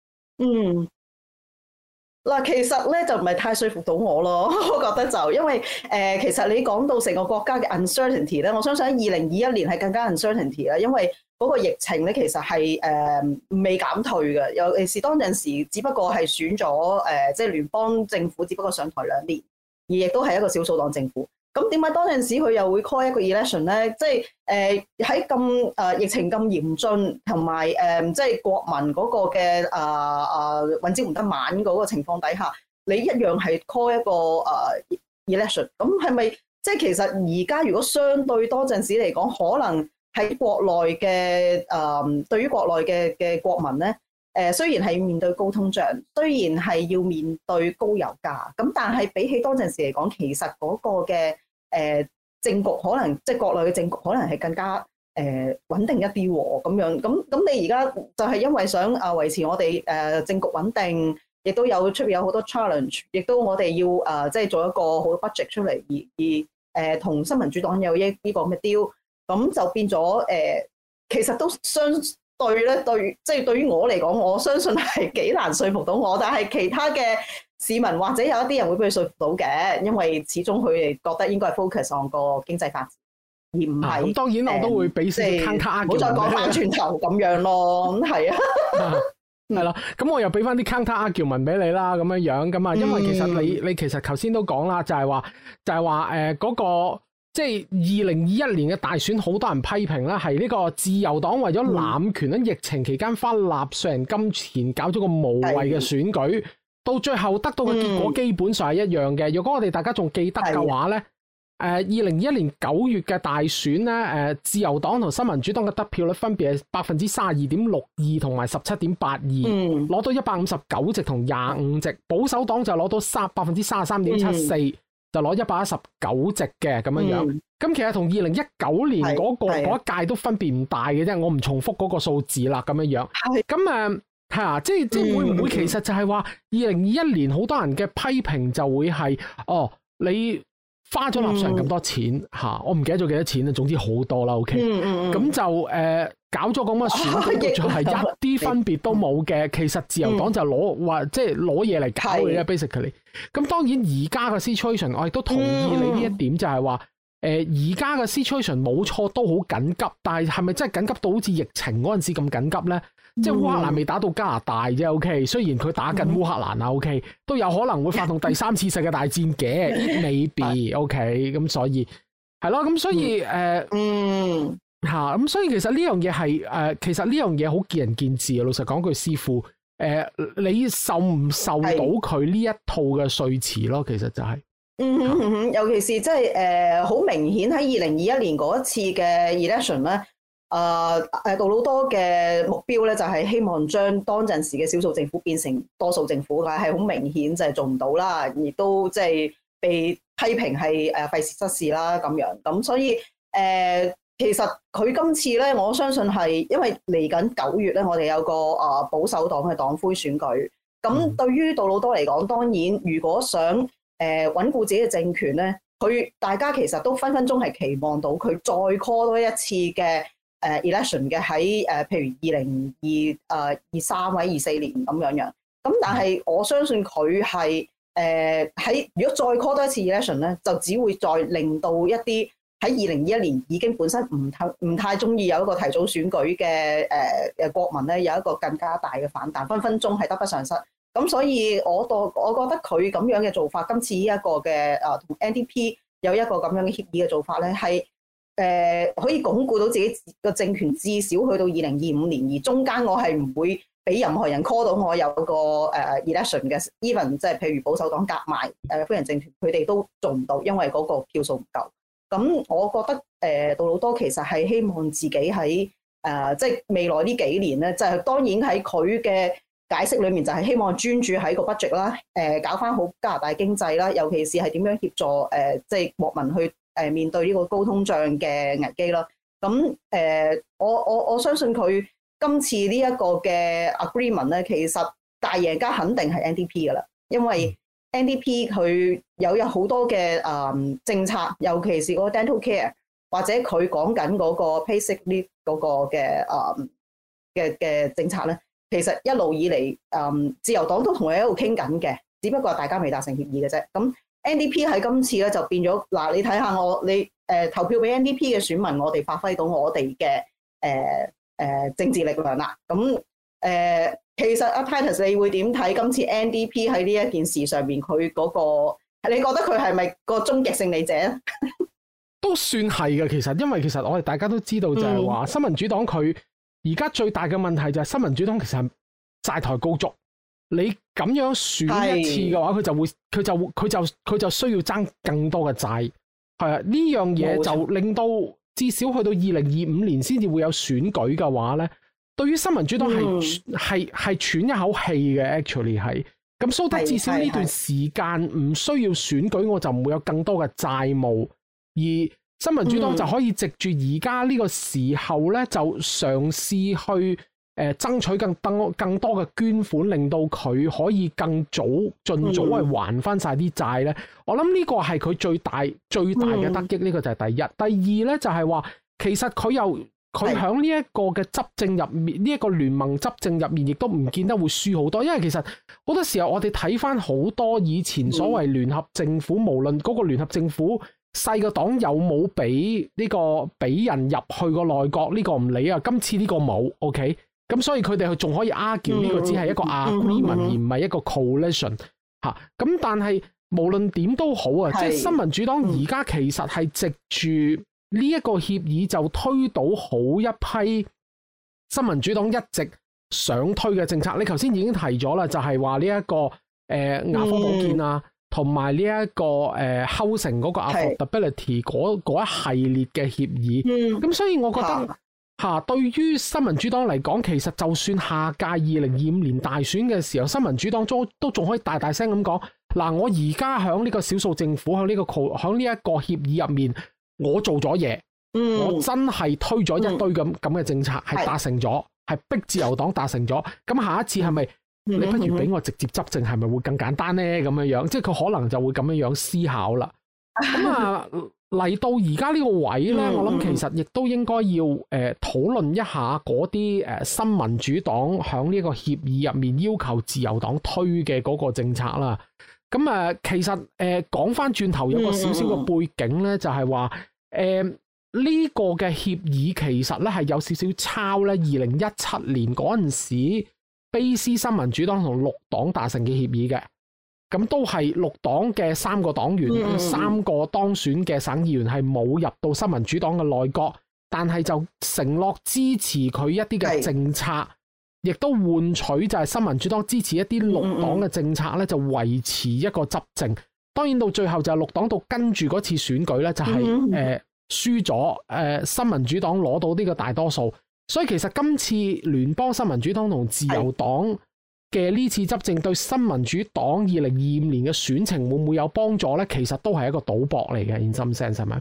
[SPEAKER 3] 嗱，其實咧就唔係太說服到我咯，我覺得就因為其實你講到成個國家嘅 uncertainty 咧，我相信喺2021年係更加 uncertainty 啦，因為嗰個疫情咧其實係未減退嘅，尤其是當陣時只不過係選咗即係聯邦政府，只不過上台2年，而亦都係一個少數黨政府。咁點解當陣時佢又會 call 一個 election 咧？即係喺咁疫情咁嚴峻，同埋即係國民嗰個嘅運之唔得晚嗰個情況底下，你一樣係 call 一個election。咁係咪即係其實而家如果相對多陣時嚟講，可能喺國內嘅對於國內嘅國民咧？雖然係要面對高通脹，雖然係要面對高油價，咁但係比起當陣時嚟講，其實嗰個嘅政局可能即係國內嘅政局可能係更加穩定一啲喎，咁樣咁你而家就係因為想維持我哋政局穩定，亦都有出邊有好多 challenge， 亦都我哋要即係做一個好 budget 出嚟，而同新民主黨有呢個咁嘅 deal，咁就變咗其實都對咧，即係對於我嚟講，我相信係幾難說服到我。但係其他嘅市民或者有一啲人會俾佢說服到嘅，因為始終佢哋覺得應該係 focus on 個經濟發展，而唔係。咁
[SPEAKER 1] 當然我都會俾少少 counter argument，唔好再講翻轉頭咁樣咯。咁係啊，係啦。咁我又俾翻啲 counter argument俾你啦，咁樣咁啊，因為其實你其實頭先都講啦，就係話嗰個。即係2021年嘅大選，好多人批評啦，係呢個自由黨為咗濫權喺疫情期間花納稅人金錢搞咗個無謂嘅選舉，到最後得到嘅結果基本上係一樣嘅。如果我哋大家仲記得嘅話咧，2021年9月嘅大選咧，自由黨同新民主黨嘅得票率分別係32.62%同埋17.82%，攞到159席同25席，保守黨就攞到33.74%。就攞119席嘅咁樣，咁其實同2019年嗰一屆都分別唔大嘅啫，我唔重複嗰個數字啦，咁樣。咁即係會唔會其實就係話2021年好多人嘅批評就會係你花咗納稅人咁多錢嚇，我唔記得咗幾多錢啦，總之好多啦。OK，咁就搞咗咁嘅選舉，就係一啲分別都冇嘅。其實自由黨就攞即係攞嘢嚟搞嘅啫，basically。咁當然而家嘅 situation，我亦都同意你呢一點，就係話而家嘅 situation 冇錯都好緊急，但係咪真係緊急到好似疫情嗰陣時咁緊急咧？即係烏克蘭未打到加拿大啫，OK。雖然佢打緊烏克蘭啊，OK，都有可能會發動第三次世界大戰嘅，maybe，OK。咁所以係咯，咁所以咁所以其實呢樣嘢係其實呢樣嘢好見仁見智啊。老實講句，師傅，你受唔受到佢呢一套嘅說辭咯？其實就係、
[SPEAKER 3] 尤其是即係好明顯喺2021年嗰一次嘅 election 咧。杜魯多嘅目標咧就係希望將當陣時嘅少數政府變成多數政府，但係好明顯就係做唔到啦，亦都即係被批評係費時失事啦咁樣。咁所以其實佢今次咧，我相信係因為嚟緊9月咧，我哋有個保守黨嘅黨魁選舉。咁對於杜魯多嚟講，當然如果想穩固自己嘅政權咧，大家其實都分分鐘係期望到佢再 call 多一次嘅election 嘅喺譬如2023或者24年咁樣。咁但係我相信佢係喺如果再 call 多一次 election 咧，就只會再令到一啲喺2021年已經本身唔太中意有一個提早選舉嘅國民咧，有一個更加大嘅反彈，分分鐘係得不償失。咁所以我覺得佢咁樣嘅做法，今次呢一個嘅同 NDP 有一個咁樣嘅協議嘅做法咧，係可以鞏固到自己個政權，至少去到2025年，而中間我係唔會俾任何人 call 到我有個election 嘅 ，even 即係譬如保守黨夾埋非人政團，佢哋都做唔到，因為嗰個票數唔夠。咁我覺得杜魯多其實係希望自己喺即係未來呢幾年咧，就係當然喺佢嘅解釋裏面就係希望專注喺個 budget 啦，搞翻好加拿大經濟啦，尤其是係點樣協助即係國民去面對呢個高通脹嘅危機啦。咁我相信佢今次呢一個嘅 agreement 咧，其實大贏家肯定係 NDP 噶啦，因為 NDP 佢有好多嘅政策，尤其是嗰個 dental care 或者佢講緊嗰個 basic leave 嗰個嘅政策咧。其實一路以嚟，自由黨都同佢喺度傾緊嘅，只不過大家未達成協議嘅啫。咁 NDP 喺今次咧就變咗嗱，你睇下你投票俾 NDP 嘅選民，我哋發揮到我哋嘅政治力量啦。咁其實阿 Titus 你會點睇今次 NDP 喺呢一件事上面佢嗰個？你覺得佢係咪個終極勝利者咧？
[SPEAKER 1] 都算係嘅，其實因為其實我哋大家都知道就係話新民主黨佢。而家最大嘅問題就係新民主黨其實係債台高築，你咁樣選一次嘅話，佢就需要爭更多嘅債，係啊，呢樣嘢就令到至少去到2025年先至會有選舉嘅話咧，對於新民主黨係喘一口氣嘅 ，actually 係咁，所以至少呢段時間唔需要選舉，我就唔會有更多嘅債務而。新民主黨就可以藉住而家呢個時候咧，就嘗試去爭取更多嘅捐款，令到佢可以盡早去還翻晒啲債咧。我諗呢個係佢最大嘅得益，呢個就係第一。第二咧就係話，其實佢喺呢一個嘅執政入面，呢一個聯盟執政入面，亦都唔見得會輸好多。因為其實好多時候我哋睇翻好多以前所謂聯合政府，無論嗰個聯合政府。細個黨有冇俾人入去個內閣？呢個唔理啊。今次呢個冇 ，OK。咁所以佢哋仲可以 argue 呢個只係一個 agreement 而唔係一個 coalition 嚇。咁但係無論點都好啊，即係新民主黨而家其實係藉住呢一個協議就推倒好一批新民主黨一直想推嘅政策。你頭先已經提咗啦，就係話呢一個牙科保健啊。同埋呢一個housing嗰個 affordability 嗰一系列嘅協議，咁所以我覺得對於新民主黨嚟講，其實就算下屆2025年大選嘅時候，新民主黨都仲可以大大聲咁講，嗱，我而家喺呢個少數政府喺呢一個協議入面，我做咗嘢，我真係推咗一堆咁嘅政策，係達成咗，係逼自由黨達成咗，咁下一次係咪？你不如俾我直接執政，係咪會更簡單呢？咁樣樣，即係佢可能就會咁樣樣思考啦。 咁啊嚟到而家呢個位咧，我諗其實亦都應該要討論一下嗰啲新民主黨響呢個協議入面要求自由黨推嘅嗰個政策啦。咁其實講翻轉頭有個少少嘅背景咧，就係話呢個嘅協議其實咧係有少少抄咧2017年嗰陣時卑斯新民主黨同綠黨達成嘅協議嘅。咁都係綠黨嘅3個黨員，3個當選嘅省議員係冇入到新民主黨嘅內閣，但係就承諾支持佢一啲嘅政策，亦都換取就係新民主黨支持一啲綠黨嘅政策咧，就維持一個執政。當然到最後就係綠黨到跟住嗰次選舉咧，就係輸咗，新民主黨攞到呢個大多數，所以其實今次聯邦新民主黨同自由黨嘅呢次執政對新民主黨2025年嘅選情會唔會有幫助咧？其實都係一個賭博嚟嘅，in some sense係咪？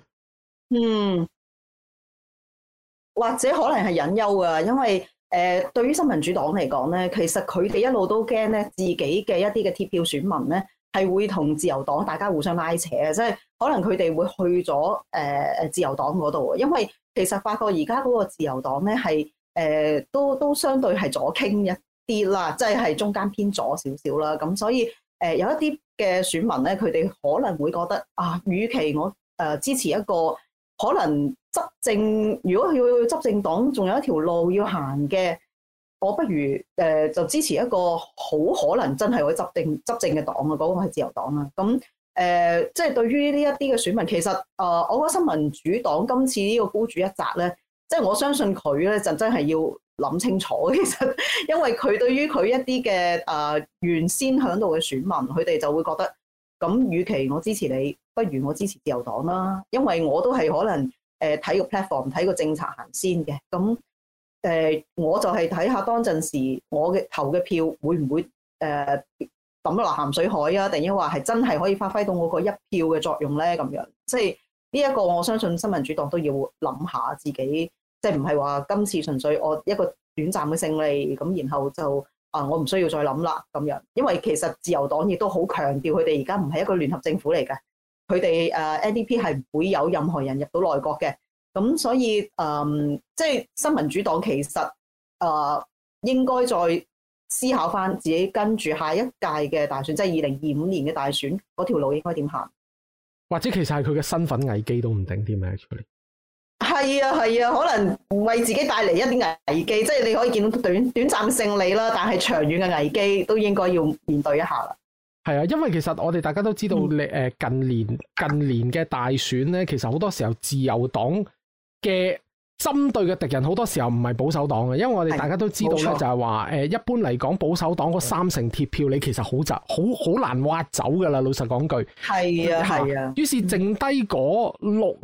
[SPEAKER 3] 或者可能係隱憂㗎，因為對於新民主黨嚟講咧，其實佢哋一路都驚咧自己嘅一啲嘅鐵票選民咧係會同自由黨大家互相拉扯嘅，即係可能佢哋會去咗自由黨嗰度，因為其實發覺而家嗰個自由黨咧係都相對係左傾一啲啦，即係中間偏左少少啦，咁所以有一啲嘅選民咧，佢哋可能會覺得啊，與其我支持一個可能執政，如果要執政黨仲有一條路要行嘅，我不如就支持一個好可能真係會執政嘅黨啊，嗰個係自由黨啦。咁即係對於呢一啲嘅選民，其實我覺得新民主黨今次呢個孤注一擲咧，即係我相信佢咧就真係要諗清楚，其實因為佢對於佢一啲嘅原先響度嘅選民，佢哋就會覺得咁，與其我支持你，不如我支持自由黨啦，因為我都係可能睇個 platform 睇個政策行先嘅，咁我就係睇下當陣時我嘅投嘅票會唔會抌落鹹水海啊，定抑或係真係可以發揮到我個一票嘅作用咧？咁樣即係呢一個，我相信新民主黨都要諗下自己。即係唔係話今次純粹我一個短暫嘅勝利咁，然後就我唔需要再諗啦咁樣，因為其實自由黨亦都好強調佢哋而家唔係一個聯合政府嚟嘅，佢哋NDP 係唔會有任何人入到內閣嘅，咁所以即係新民主黨其實應該再思考翻自己跟住下一屆嘅大選，即係2025年嘅大選嗰條路應該點行，或者其實係佢嘅身份危機都唔定添嘅。係啊，可能為自己帶嚟一啲危機，即係你可以見到短暫勝利啦，但係長遠嘅危機都應該要面對一下啦。係啊，因為其實我哋大家都知道，近年嘅大選咧，其實好多時候自由黨嘅針對嘅敵人好多時候唔係保守黨嘅，因為我哋大家都知道咧，就係話一般嚟講保守黨嗰3成鐵票，你其實好難挖走噶啦。老實講句，係啊。於是剩低個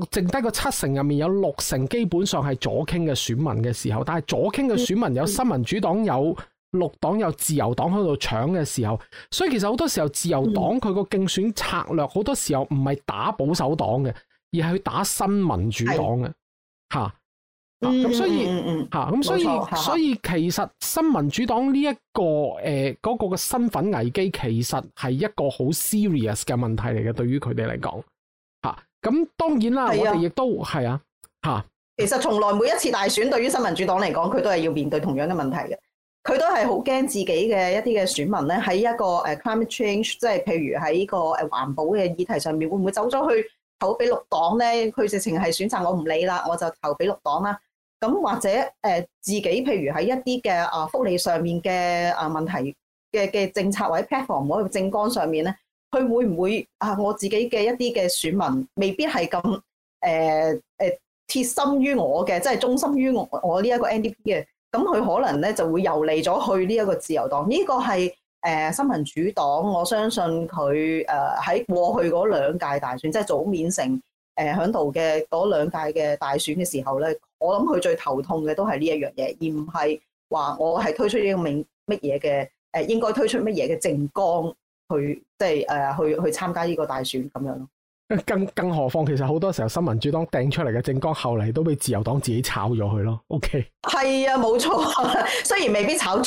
[SPEAKER 3] 7成入面有6成基本上係左傾嘅選民嘅時候，但係左傾嘅選民有新民主黨、有綠黨、有自由黨喺度搶嘅時候，所以其實好多時候自由黨佢個競選策略好多時候唔係打保守黨嘅，而係去打新民主黨嘅嚇。咁所以其實新民主黨呢一個嗰個嘅身份危機其實係一個好 serious 嘅問題嚟嘅，對於佢哋嚟講嚇。咁當然啦，我哋亦都係啊嚇。其實從來每一次大選對於新民主黨嚟講，佢都係要面對同樣嘅問題嘅。佢都係好驚自己嘅一啲嘅選民咧，喺一個climate change，即係譬如喺呢個環保嘅議題上面，會唔會走咗去投俾綠黨咧？佢直情係選擇我唔理啦，我就投俾綠黨啦。咁或者自己譬如喺一啲嘅福利上面嘅問題嘅政策或者 platform 嗰個政綱上面咧，佢會唔會我自己嘅一啲嘅選民未必係咁貼心於我嘅，即係忠心於我呢一個 NDP 嘅，咁佢可能咧就會遊離咗去呢一個自由黨。呢個係新民主黨，我相信佢喺過去嗰2屆大選，即係早免成響度嘅嗰2屆嘅大選嘅時候咧，我諗佢最頭痛嘅都係呢一樣嘢，而唔係話我係推出呢個乜嘢嘅應該推出乜嘢嘅政綱去即係去參加呢個大選咁樣咯。更何況其實好多時候新民主黨掟出嚟嘅政綱後嚟都俾自由黨自己炒咗佢咯。OK， 係啊，冇錯，雖然未必炒足，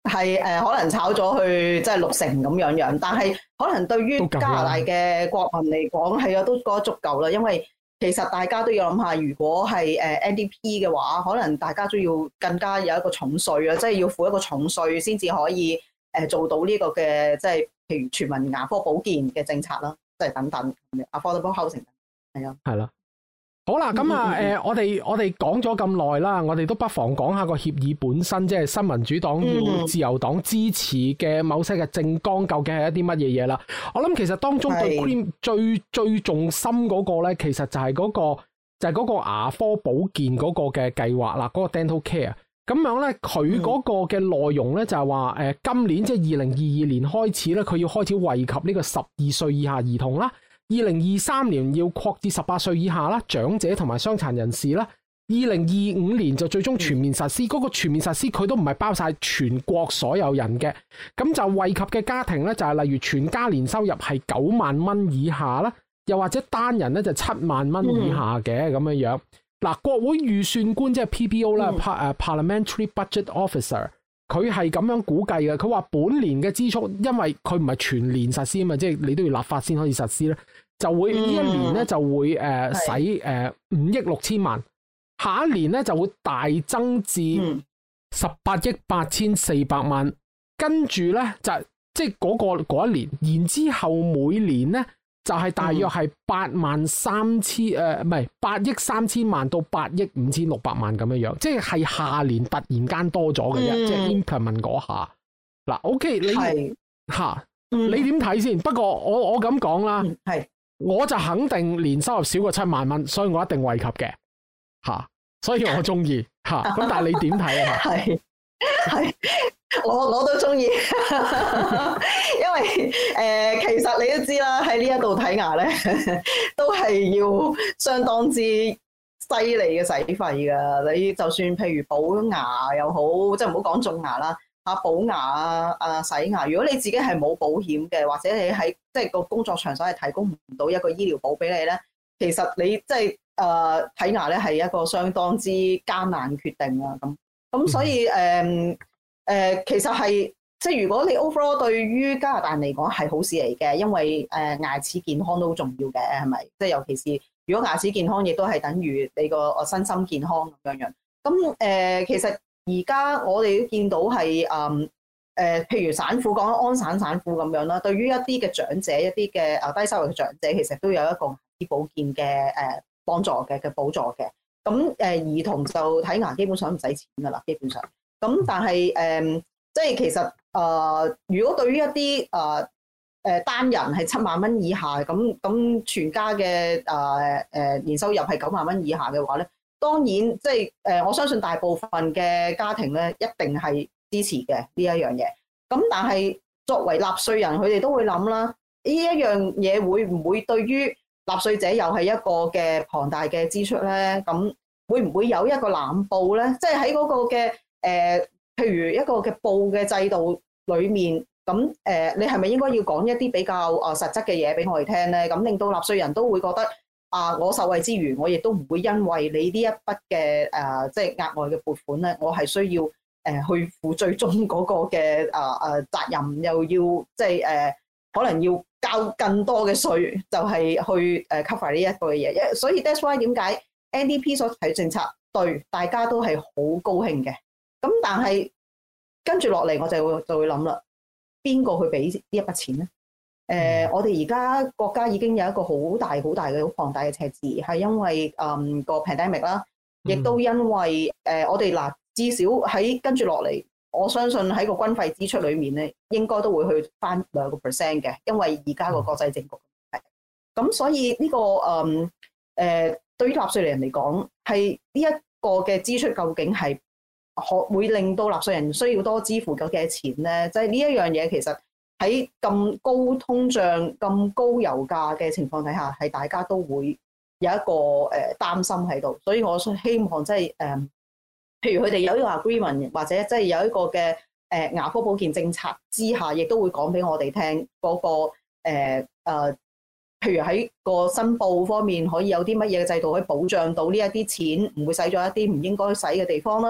[SPEAKER 3] 係可能炒咗去即係60%咁樣，但係可能對於加拿大嘅國民嚟講係啊都覺得足夠啦，因為其實大家都要諗下，如果係NDP 嘅話，可能大家都要更加有一個重稅啊，即係要付一個重稅先至可以做到呢個嘅即係譬如全民牙科保健嘅政策啦，即係等等 affordable housing 係啊，
[SPEAKER 1] 係啦。好啦，咁我哋講咗咁耐啦，我哋都不妨講下個協議本身，即係新民主黨要自由黨支持嘅某些嘅政綱，究竟係一啲乜嘢嘢啦？我諗其實當中對 Cream 最重心嗰個咧，其實就係嗰個牙科保健嗰個嘅計劃啦，嗰個 Dental Care。咁樣咧，佢嗰個嘅內容咧就係話，今年即係2022年開始咧，佢要開始惠及呢個12歲以下兒童啦。2023年要擴至18歲以下啦，長者同埋傷殘人士啦。2025年就最終全面實施，嗰個全面實施佢都唔係包晒全國所有人嘅，咁就惠及嘅家庭咧就係例如全家年收入係9萬蚊以下啦，又或者單人咧就7萬蚊以下嘅咁樣樣。嗱，國會預算官即係 PBO 啦，Parliamentary Budget Officer。佢係咁樣估計嘅，佢話本年嘅支出，因為佢唔係全年實施啊嘛，即係你都要立法先可以實施咧，就會呢一年咧就會使5億6千萬，下一年咧就會大增至18億8400萬，跟住咧就即係嗰一年，然之後每年咧就係大約係8億3千萬到8億5600萬咁樣樣，即係下年突然間多咗嘅啫，即係 implement 嗰下。嗱 ，OK， 你點睇先？不過我咁講啦，我就肯定年收入少過7萬蚊，所以我一定惠及嘅所以我中意咁但係你點睇啊？
[SPEAKER 3] 係我都中意，因為其實你都知啦，喺呢一度睇牙咧，都係要相當之犀利嘅使費噶。你就算譬如補牙又好，即係唔好講種牙啦，補牙洗牙，如果你自己係冇保險嘅，或者你喺即係個工作場所係提供唔到一個醫療保俾你咧，其實你即係睇牙咧係一個相當之艱難決定啊。咁所以其實係即係如果你 overall 對於加拿大人嚟講係好事嚟嘅，因為牙齒健康都好重要嘅，係咪？即係尤其是如果牙齒健康，亦都係等於你個身心健康咁樣。咁其實而家我哋都見到係譬如省府講安省省府咁樣啦，對於一啲嘅長者，一啲嘅低收入嘅長者，其實都有一個牙齒保健嘅幫助嘅補助嘅。咁兒童就睇牙基本上唔使錢㗎啦，基本上。咁但係即係其實如果對於一啲單人係7萬蚊以下，咁全家嘅年收入係9萬蚊以下嘅話咧，當然即係我相信大部分嘅家庭咧一定係支持嘅呢一樣嘢。咁但係作為納稅人，佢哋都會諗啦，呢一樣嘢會唔會對於納稅者又係一個嘅龐大嘅支出咧？咁會唔會有一個濫報咧？即係喺嗰個嘅譬如一個嘅報嘅制度裏面，咁你係咪應該要講一啲比較實質嘅嘢俾我哋聽咧？咁令到納稅人都會覺得我受惠之餘，我亦都唔會因為你呢一筆嘅即係額外嘅撥款咧，我係需要去負最終嗰個嘅責任，又要即係可能要交更多嘅稅，就係去cover 呢一個嘢。所以 that's why 點解 NDP 所提政策對大家都係好高興嘅。咁但係跟住落嚟，我就會諗啦，邊個去俾呢一筆錢咧？我哋而家國家已經有一個好大嘅好龐大嘅赤字，係因為個 pandemic 啦，亦都因為我哋至少喺跟住落嚟，我相信喺個軍費支出裏面咧，應該都會去翻2% 嘅，因為而家個國際政局係咁，所以呢個對於納稅人嚟講，係呢一個嘅支出究竟係會令到納稅人需要多支付咗幾多錢咧？即係呢一樣嘢，其實喺咁高通脹、咁高油價嘅情況底下，係大家都會有一個擔心喺度。所以我希望即係譬如佢哋有一個 agreement， 或者即係有一個嘅牙科保健政策之下，亦都會講俾我哋聽嗰個譬如喺個申報方面，可以有啲乜嘢嘅制度可以保障到呢一啲錢唔會使咗一啲唔應該使嘅地方啦。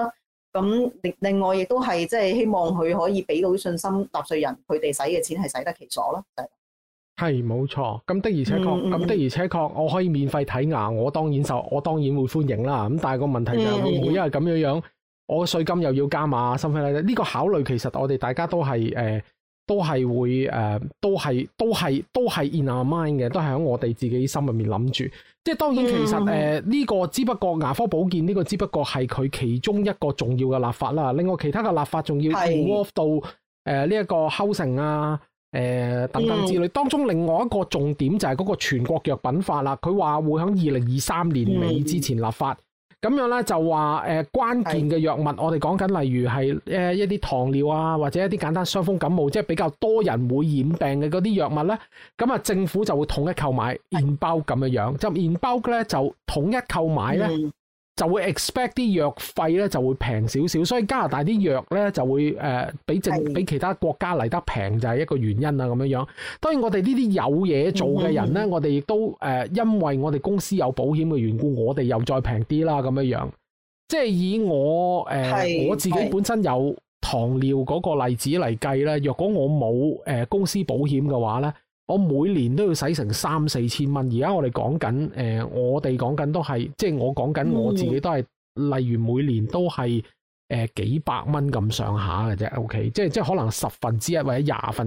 [SPEAKER 3] 咁另外亦都係即係希望佢可以俾到信心納稅人，佢哋使嘅錢係使得其所咯。
[SPEAKER 1] 係冇錯，咁的而且確，咁的而且確，我可以免費睇牙，我當然會歡迎啦。咁但係個問題就係會唔會因為咁樣，我稅金又要加碼，甚至係呢個考慮，其實我哋大家都係都係會都係 in our mind 嘅，都係喺我哋自己心入面諗住。即係當然，其實呢個只不過牙科保健呢個只不過係佢其中一個重要嘅立法啦。另外其他嘅立法仲要 involve 到呢一個 housing 啊。等等之類，當中另外一個重點就係嗰個全國藥品法啦。佢話會喺2023年尾之前立法，咁樣咧就話關鍵嘅藥物，我哋講緊例如係一啲糖尿啊，或者一啲簡單傷風感冒，即係比較多人會染病嘅嗰啲藥物咧，咁啊政府就會統一購買 in bulk 咁樣樣，就 in bulk 咧就統一購買咧。就會 expect 啲藥費咧就會平少少，所以加拿大啲藥咧就會比其他國家嚟得平，就係一個原因啦咁樣樣。當然我哋呢啲有嘢做嘅人咧，我哋亦都因為我哋公司有保險嘅緣故，我哋又再平啲啦咁樣樣。即係以我自己本身有糖尿嗰個例子嚟計咧，若果我冇公司保險嘅話咧，我每年都要使成3-4千蚊。而家我哋講緊我哋講緊都係，即係我講緊我自己都係，例如每年都係幾百蚊咁上下嘅啫。OK， 即係可能1/10或者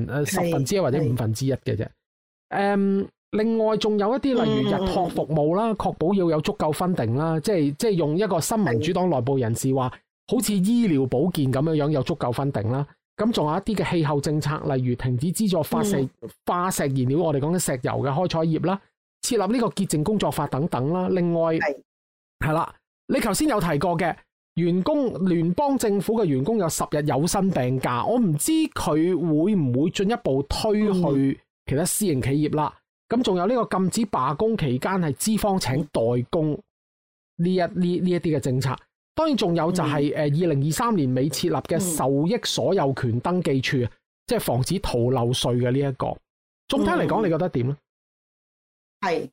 [SPEAKER 1] 1/10或者1/5嘅啫。另外仲有一啲例如日託服務啦，確保要有足夠funding啦，即係用一個新民主黨內部人士話，好似醫療保健咁樣樣有足夠funding啦。咁仲有一啲嘅氣候政策，例如停止資助化石燃料，我哋講緊石油嘅開採業啦，設立呢個潔淨工作法等等啦。另外係啦，你頭先有提過嘅聯邦政府嘅員工有10日有薪病假，我唔知佢會唔會進一步推去其他私營企業啦。咁仲有呢個禁止罷工期間係資方請代工呢一啲嘅政策。當然仲有就係2023年尾設立嘅受益所有權登記處，即係防止逃漏稅嘅呢一個。總體嚟講，你覺得點咧？
[SPEAKER 3] 係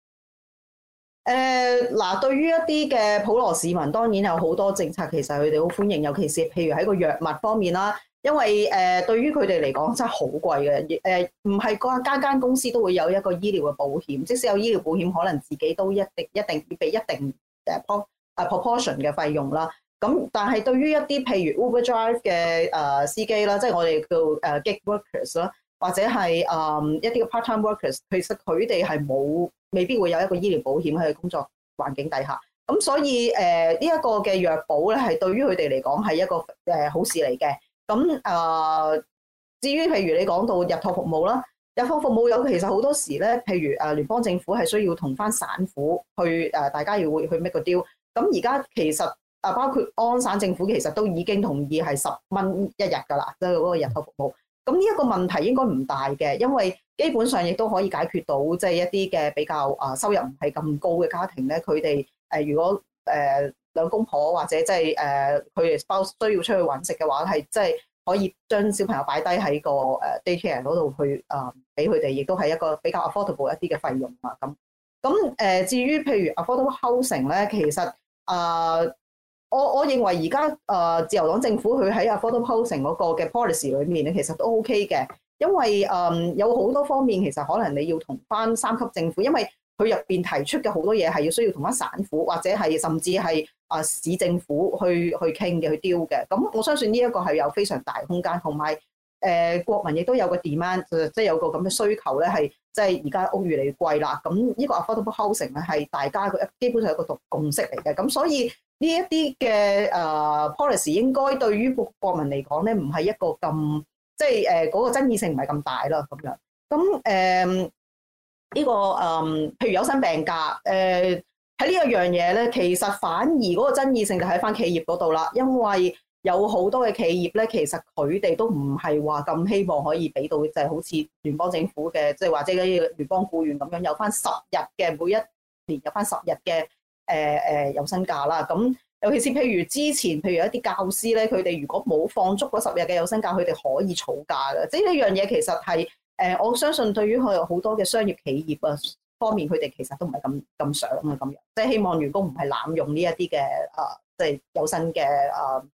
[SPEAKER 3] 嗱，對於一啲嘅普羅市民，當然有好多政策，其實佢哋好歡迎，尤其是譬如喺個藥物方面啦。因為對於佢哋嚟講真係好貴嘅，唔係間公司都會有一個醫療嘅保險，即使有醫療保險，可能自己都一定要俾一定proportion 嘅費用啦。咁但係對於一啲譬如 Uber Drive 嘅司機啦，即係我哋叫gig workers 啦，或者係一啲嘅 part time workers， 其實佢哋係未必會有一個醫療保險喺工作環境底下。咁所以呢一個嘅藥保咧，係對於佢哋嚟講係一個好事嚟嘅。咁至於譬如你講到日託服務啦，日託服務有其實好多時咧，譬如聯邦政府係需要同翻省府去大家要會去 make 個 deal。咁而家其實包括安省政府其實都已經同意係10蚊一日㗎啦，即係嗰個日託服務。咁呢一個問題應該唔大嘅，因為基本上亦都可以解決到即係一啲嘅比較收入唔係咁高嘅家庭咧，佢哋如果兩公婆或者即係佢哋需要出去揾食嘅話，係即係可以將小朋友擺低喺個daycare 嗰度去俾佢哋，亦都係一個比較 affordable 一啲嘅費用啊。咁至於譬如 affordable housing 咧，其實我認為而家自由黨政府佢喺 affordable housing 嗰個嘅 policy 裏面咧，其實都 OK 嘅，因為有好多方面其實可能你要同翻3級政府，因為佢入邊提出嘅好多嘢係要需要同翻省府或者係甚至係市政府去傾嘅，去 deal 嘅。咁我相信呢一個係有非常大空間，同埋國民亦都有個 demand， 即係有個咁嘅需求咧，係即係而家屋越嚟越貴啦。咁呢個 affordable housing 咧係大家基本上係一個共識嚟嘅。咁所以呢一啲嘅policy 應該對於國民嚟講咧，唔係一個咁即係嗰個爭議性唔係咁大啦。咁樣咁呢個譬如有薪病假，喺呢一樣嘢咧，其實反而嗰個爭議性就喺翻企業嗰度啦，因為有好多嘅企業咧，其實佢哋都唔係話咁希望可以俾到，就係好似聯邦政府嘅，即係或者嗰啲聯邦僱員咁樣有翻10日嘅，每一年有翻10日嘅有薪假啦。咁尤其是譬如之前，譬如一啲教師咧，佢哋如果冇放足嗰10日嘅有薪假，佢哋可以儲假嘅。即係呢樣嘢其實係我相信對於佢好多嘅商業企業啊方面，佢哋其實都唔係咁想啊咁樣，即係希望員工唔係濫用呢一啲嘅即係有薪嘅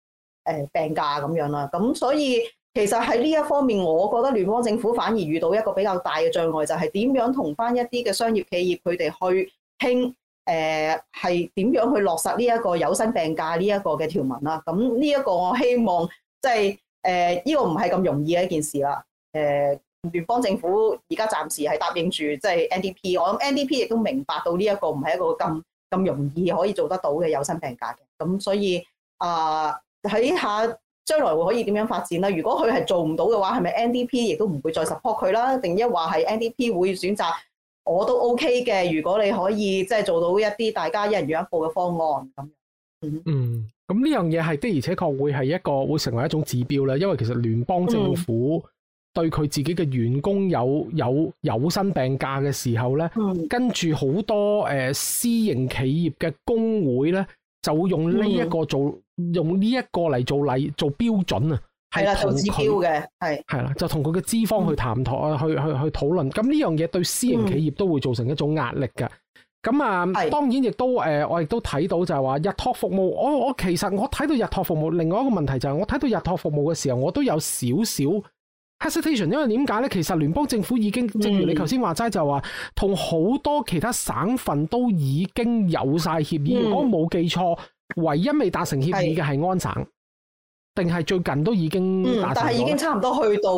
[SPEAKER 3] 病假咁樣啦。咁所以其實喺呢一方面，我覺得聯邦政府反而遇到一個比較大嘅障礙，就係點樣同翻一啲嘅商業企業佢哋去傾係點樣去落實呢一個有薪病假呢一個嘅條文啦。咁呢一個我希望即係呢個唔係咁容易嘅一件事啦。聯邦政府而家暫時係答應住即係 NDP， 我諗 NDP 亦都明白到呢一個唔係一個咁容易可以做得到嘅有薪病假嘅。咁所以睇下將來會可以點樣發展啦。如果佢係做唔到嘅話，係咪 NDP 亦都唔會再 support 佢啦？定一話係 NDP 會選擇我都 OK 嘅。如果你可以即係做到一啲大家一人讓一步嘅方案咁。
[SPEAKER 1] 咁呢樣嘢係的而且確會成為一種指標啦。因為其實聯邦政府對佢自己嘅員工有薪病假嘅時候咧，跟住好多私營企業嘅工會咧，就會用呢一個用呢一個嚟做標準啊，係啦，做指標嘅，係啦，就同佢嘅資方去談妥去討論。咁呢樣嘢對私營企業都會造成一種壓力嘅。咁當然亦都我亦都睇到就係話日託服務，我其實我睇到日託服務，另外一個問題就係我睇到日託服務嘅時候，我都有少少 hesitation， 因為點解咧？其實聯邦政府已經正如你頭先話齋，就話同好多其他省份都已經有晒協議。如果冇記錯，唯一未達成協議嘅係安省，定係最近都已經達成咗？
[SPEAKER 3] 但係已經差唔多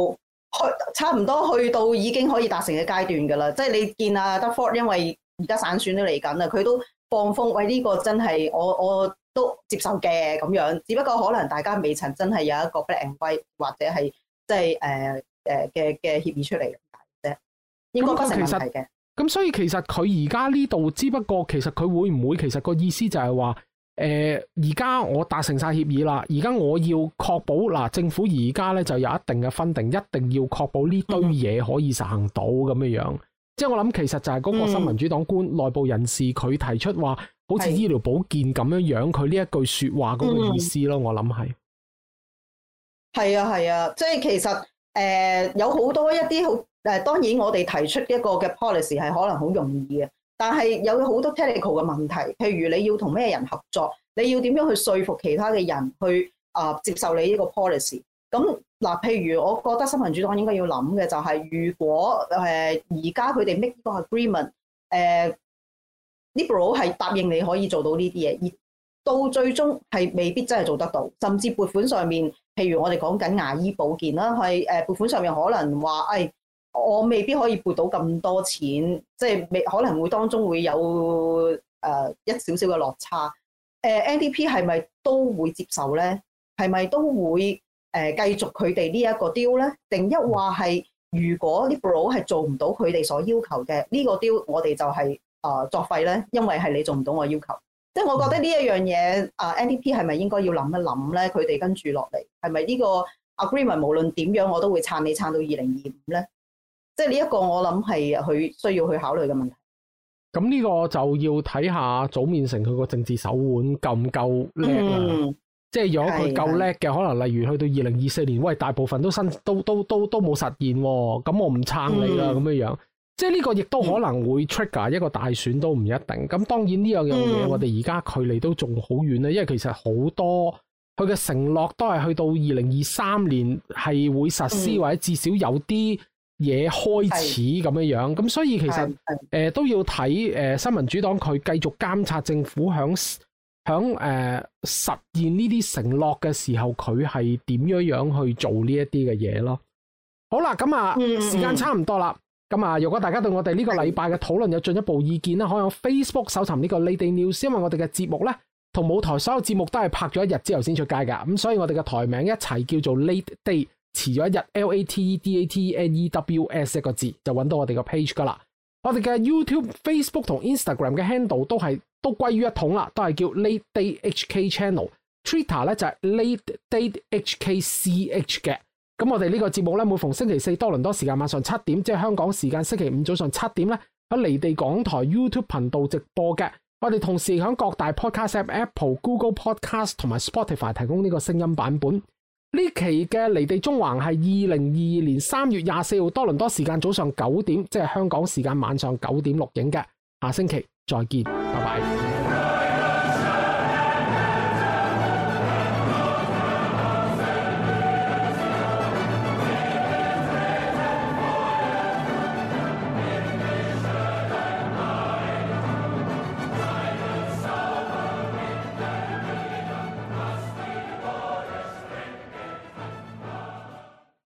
[SPEAKER 3] 去到已經可以達成嘅階段㗎啦。即係你見阿德福，因為而家省選都嚟緊啦，佢都放風，喂，呢個真係我都接受嘅咁樣。只不過可能大家未曾真係有一個 black and white 或者係即係嘅協議出嚟啫，應該不成問題嘅。
[SPEAKER 1] 咁所以其實佢而家呢度，只不過其實佢會唔會其實個意思就係話，而家我達成晒協議啦，而家我要確保嗱，政府而家咧就有一定嘅分定，一定要確保呢堆嘢可以實行到咁樣樣。即係我諗，其實就係嗰個新民主黨官內部人士佢提出話，好似醫療保健咁樣樣，佢呢一句說話嗰個意思咯。我諗係
[SPEAKER 3] 啊，即係其實有好多一啲好當然我哋提出一個嘅 policy 係可能好容易嘅，但係有好多 technical 嘅問題，譬如你要同咩人合作，你要點樣去說服其他嘅人去接受你呢個 policy。咁嗱，譬如我覺得新民主黨應該要諗嘅就係，如果而家佢哋 make 呢個 agreement，liberal 係答應你可以做到呢啲嘢，而到最終係未必真係做得到，甚至撥款上面，譬如我哋講緊牙醫保健啦，係撥款上面可能話，我未必可以撥到咁多錢，即係可能會當中會有一少少嘅落差。NDP 係咪都會接受咧？係咪都會繼續佢哋呢一個 deal 咧？定一話係如果 Liberal 係做唔到佢哋所要求嘅呢個 deal，我哋就係作廢咧，因為係你做唔到我要求。即係我覺得呢一樣嘢，NDP 係咪應該要諗一諗咧？佢哋跟住落嚟係咪呢個 agreement 無論點樣我都會撐你撐到2025咧？即係呢一個我諗係佢需要去考慮嘅問題。
[SPEAKER 1] 咁呢個就要睇下組面成佢個政治手腕夠唔夠叻啦。即係如果佢夠叻嘅，可能例如去到2024年，喂，大部分都冇實現，咁我唔撐你啦咁樣。即係呢個亦都可能會 trigger 一個大選都唔一定。咁當然呢樣嘢我哋而家距離都仲好遠咧，因為其實好多佢嘅承諾都係去到2023年係會實施，或者至少有啲嘢開始咁樣。咁所以其實都要睇新民主黨佢繼續監察政府響實現呢啲承諾嘅時候，佢係點樣去做呢一啲嘅嘢咯。好啦，咁時間差唔多啦。咁如果大家對我哋呢個禮拜嘅討論有進一步意見咧，可以用 Facebook 搜尋呢個 Late Date News， 因為我哋嘅節目咧同舞台所有節目都係拍咗一日之後先出街噶，咁所以我哋嘅台名一齊叫做 Late Date， 遲咗一日 LATEDATNEWS 一個字就揾到我哋個 page 噶啦。我哋嘅 YouTube、Facebook 同 Instagram 嘅 handle 都歸於一統啦，都係叫 Late Date HK Channel。Twitter 咧就係 Late Date HKCH 嘅。咁我哋呢個節目咧，每逢星期四多倫多時間晚上7點，即係香港時間星期五早上7點咧，喺離地港台 YouTube 頻道直播嘅。我哋同時喺各大 Podcast App、Apple、Google Podcast 同埋 Spotify 提供呢個聲音版本。呢期嘅離地中環係2022年3月24號多倫多時間早上9點，即係香港時間晚上9點錄影嘅。下星期再見，拜拜。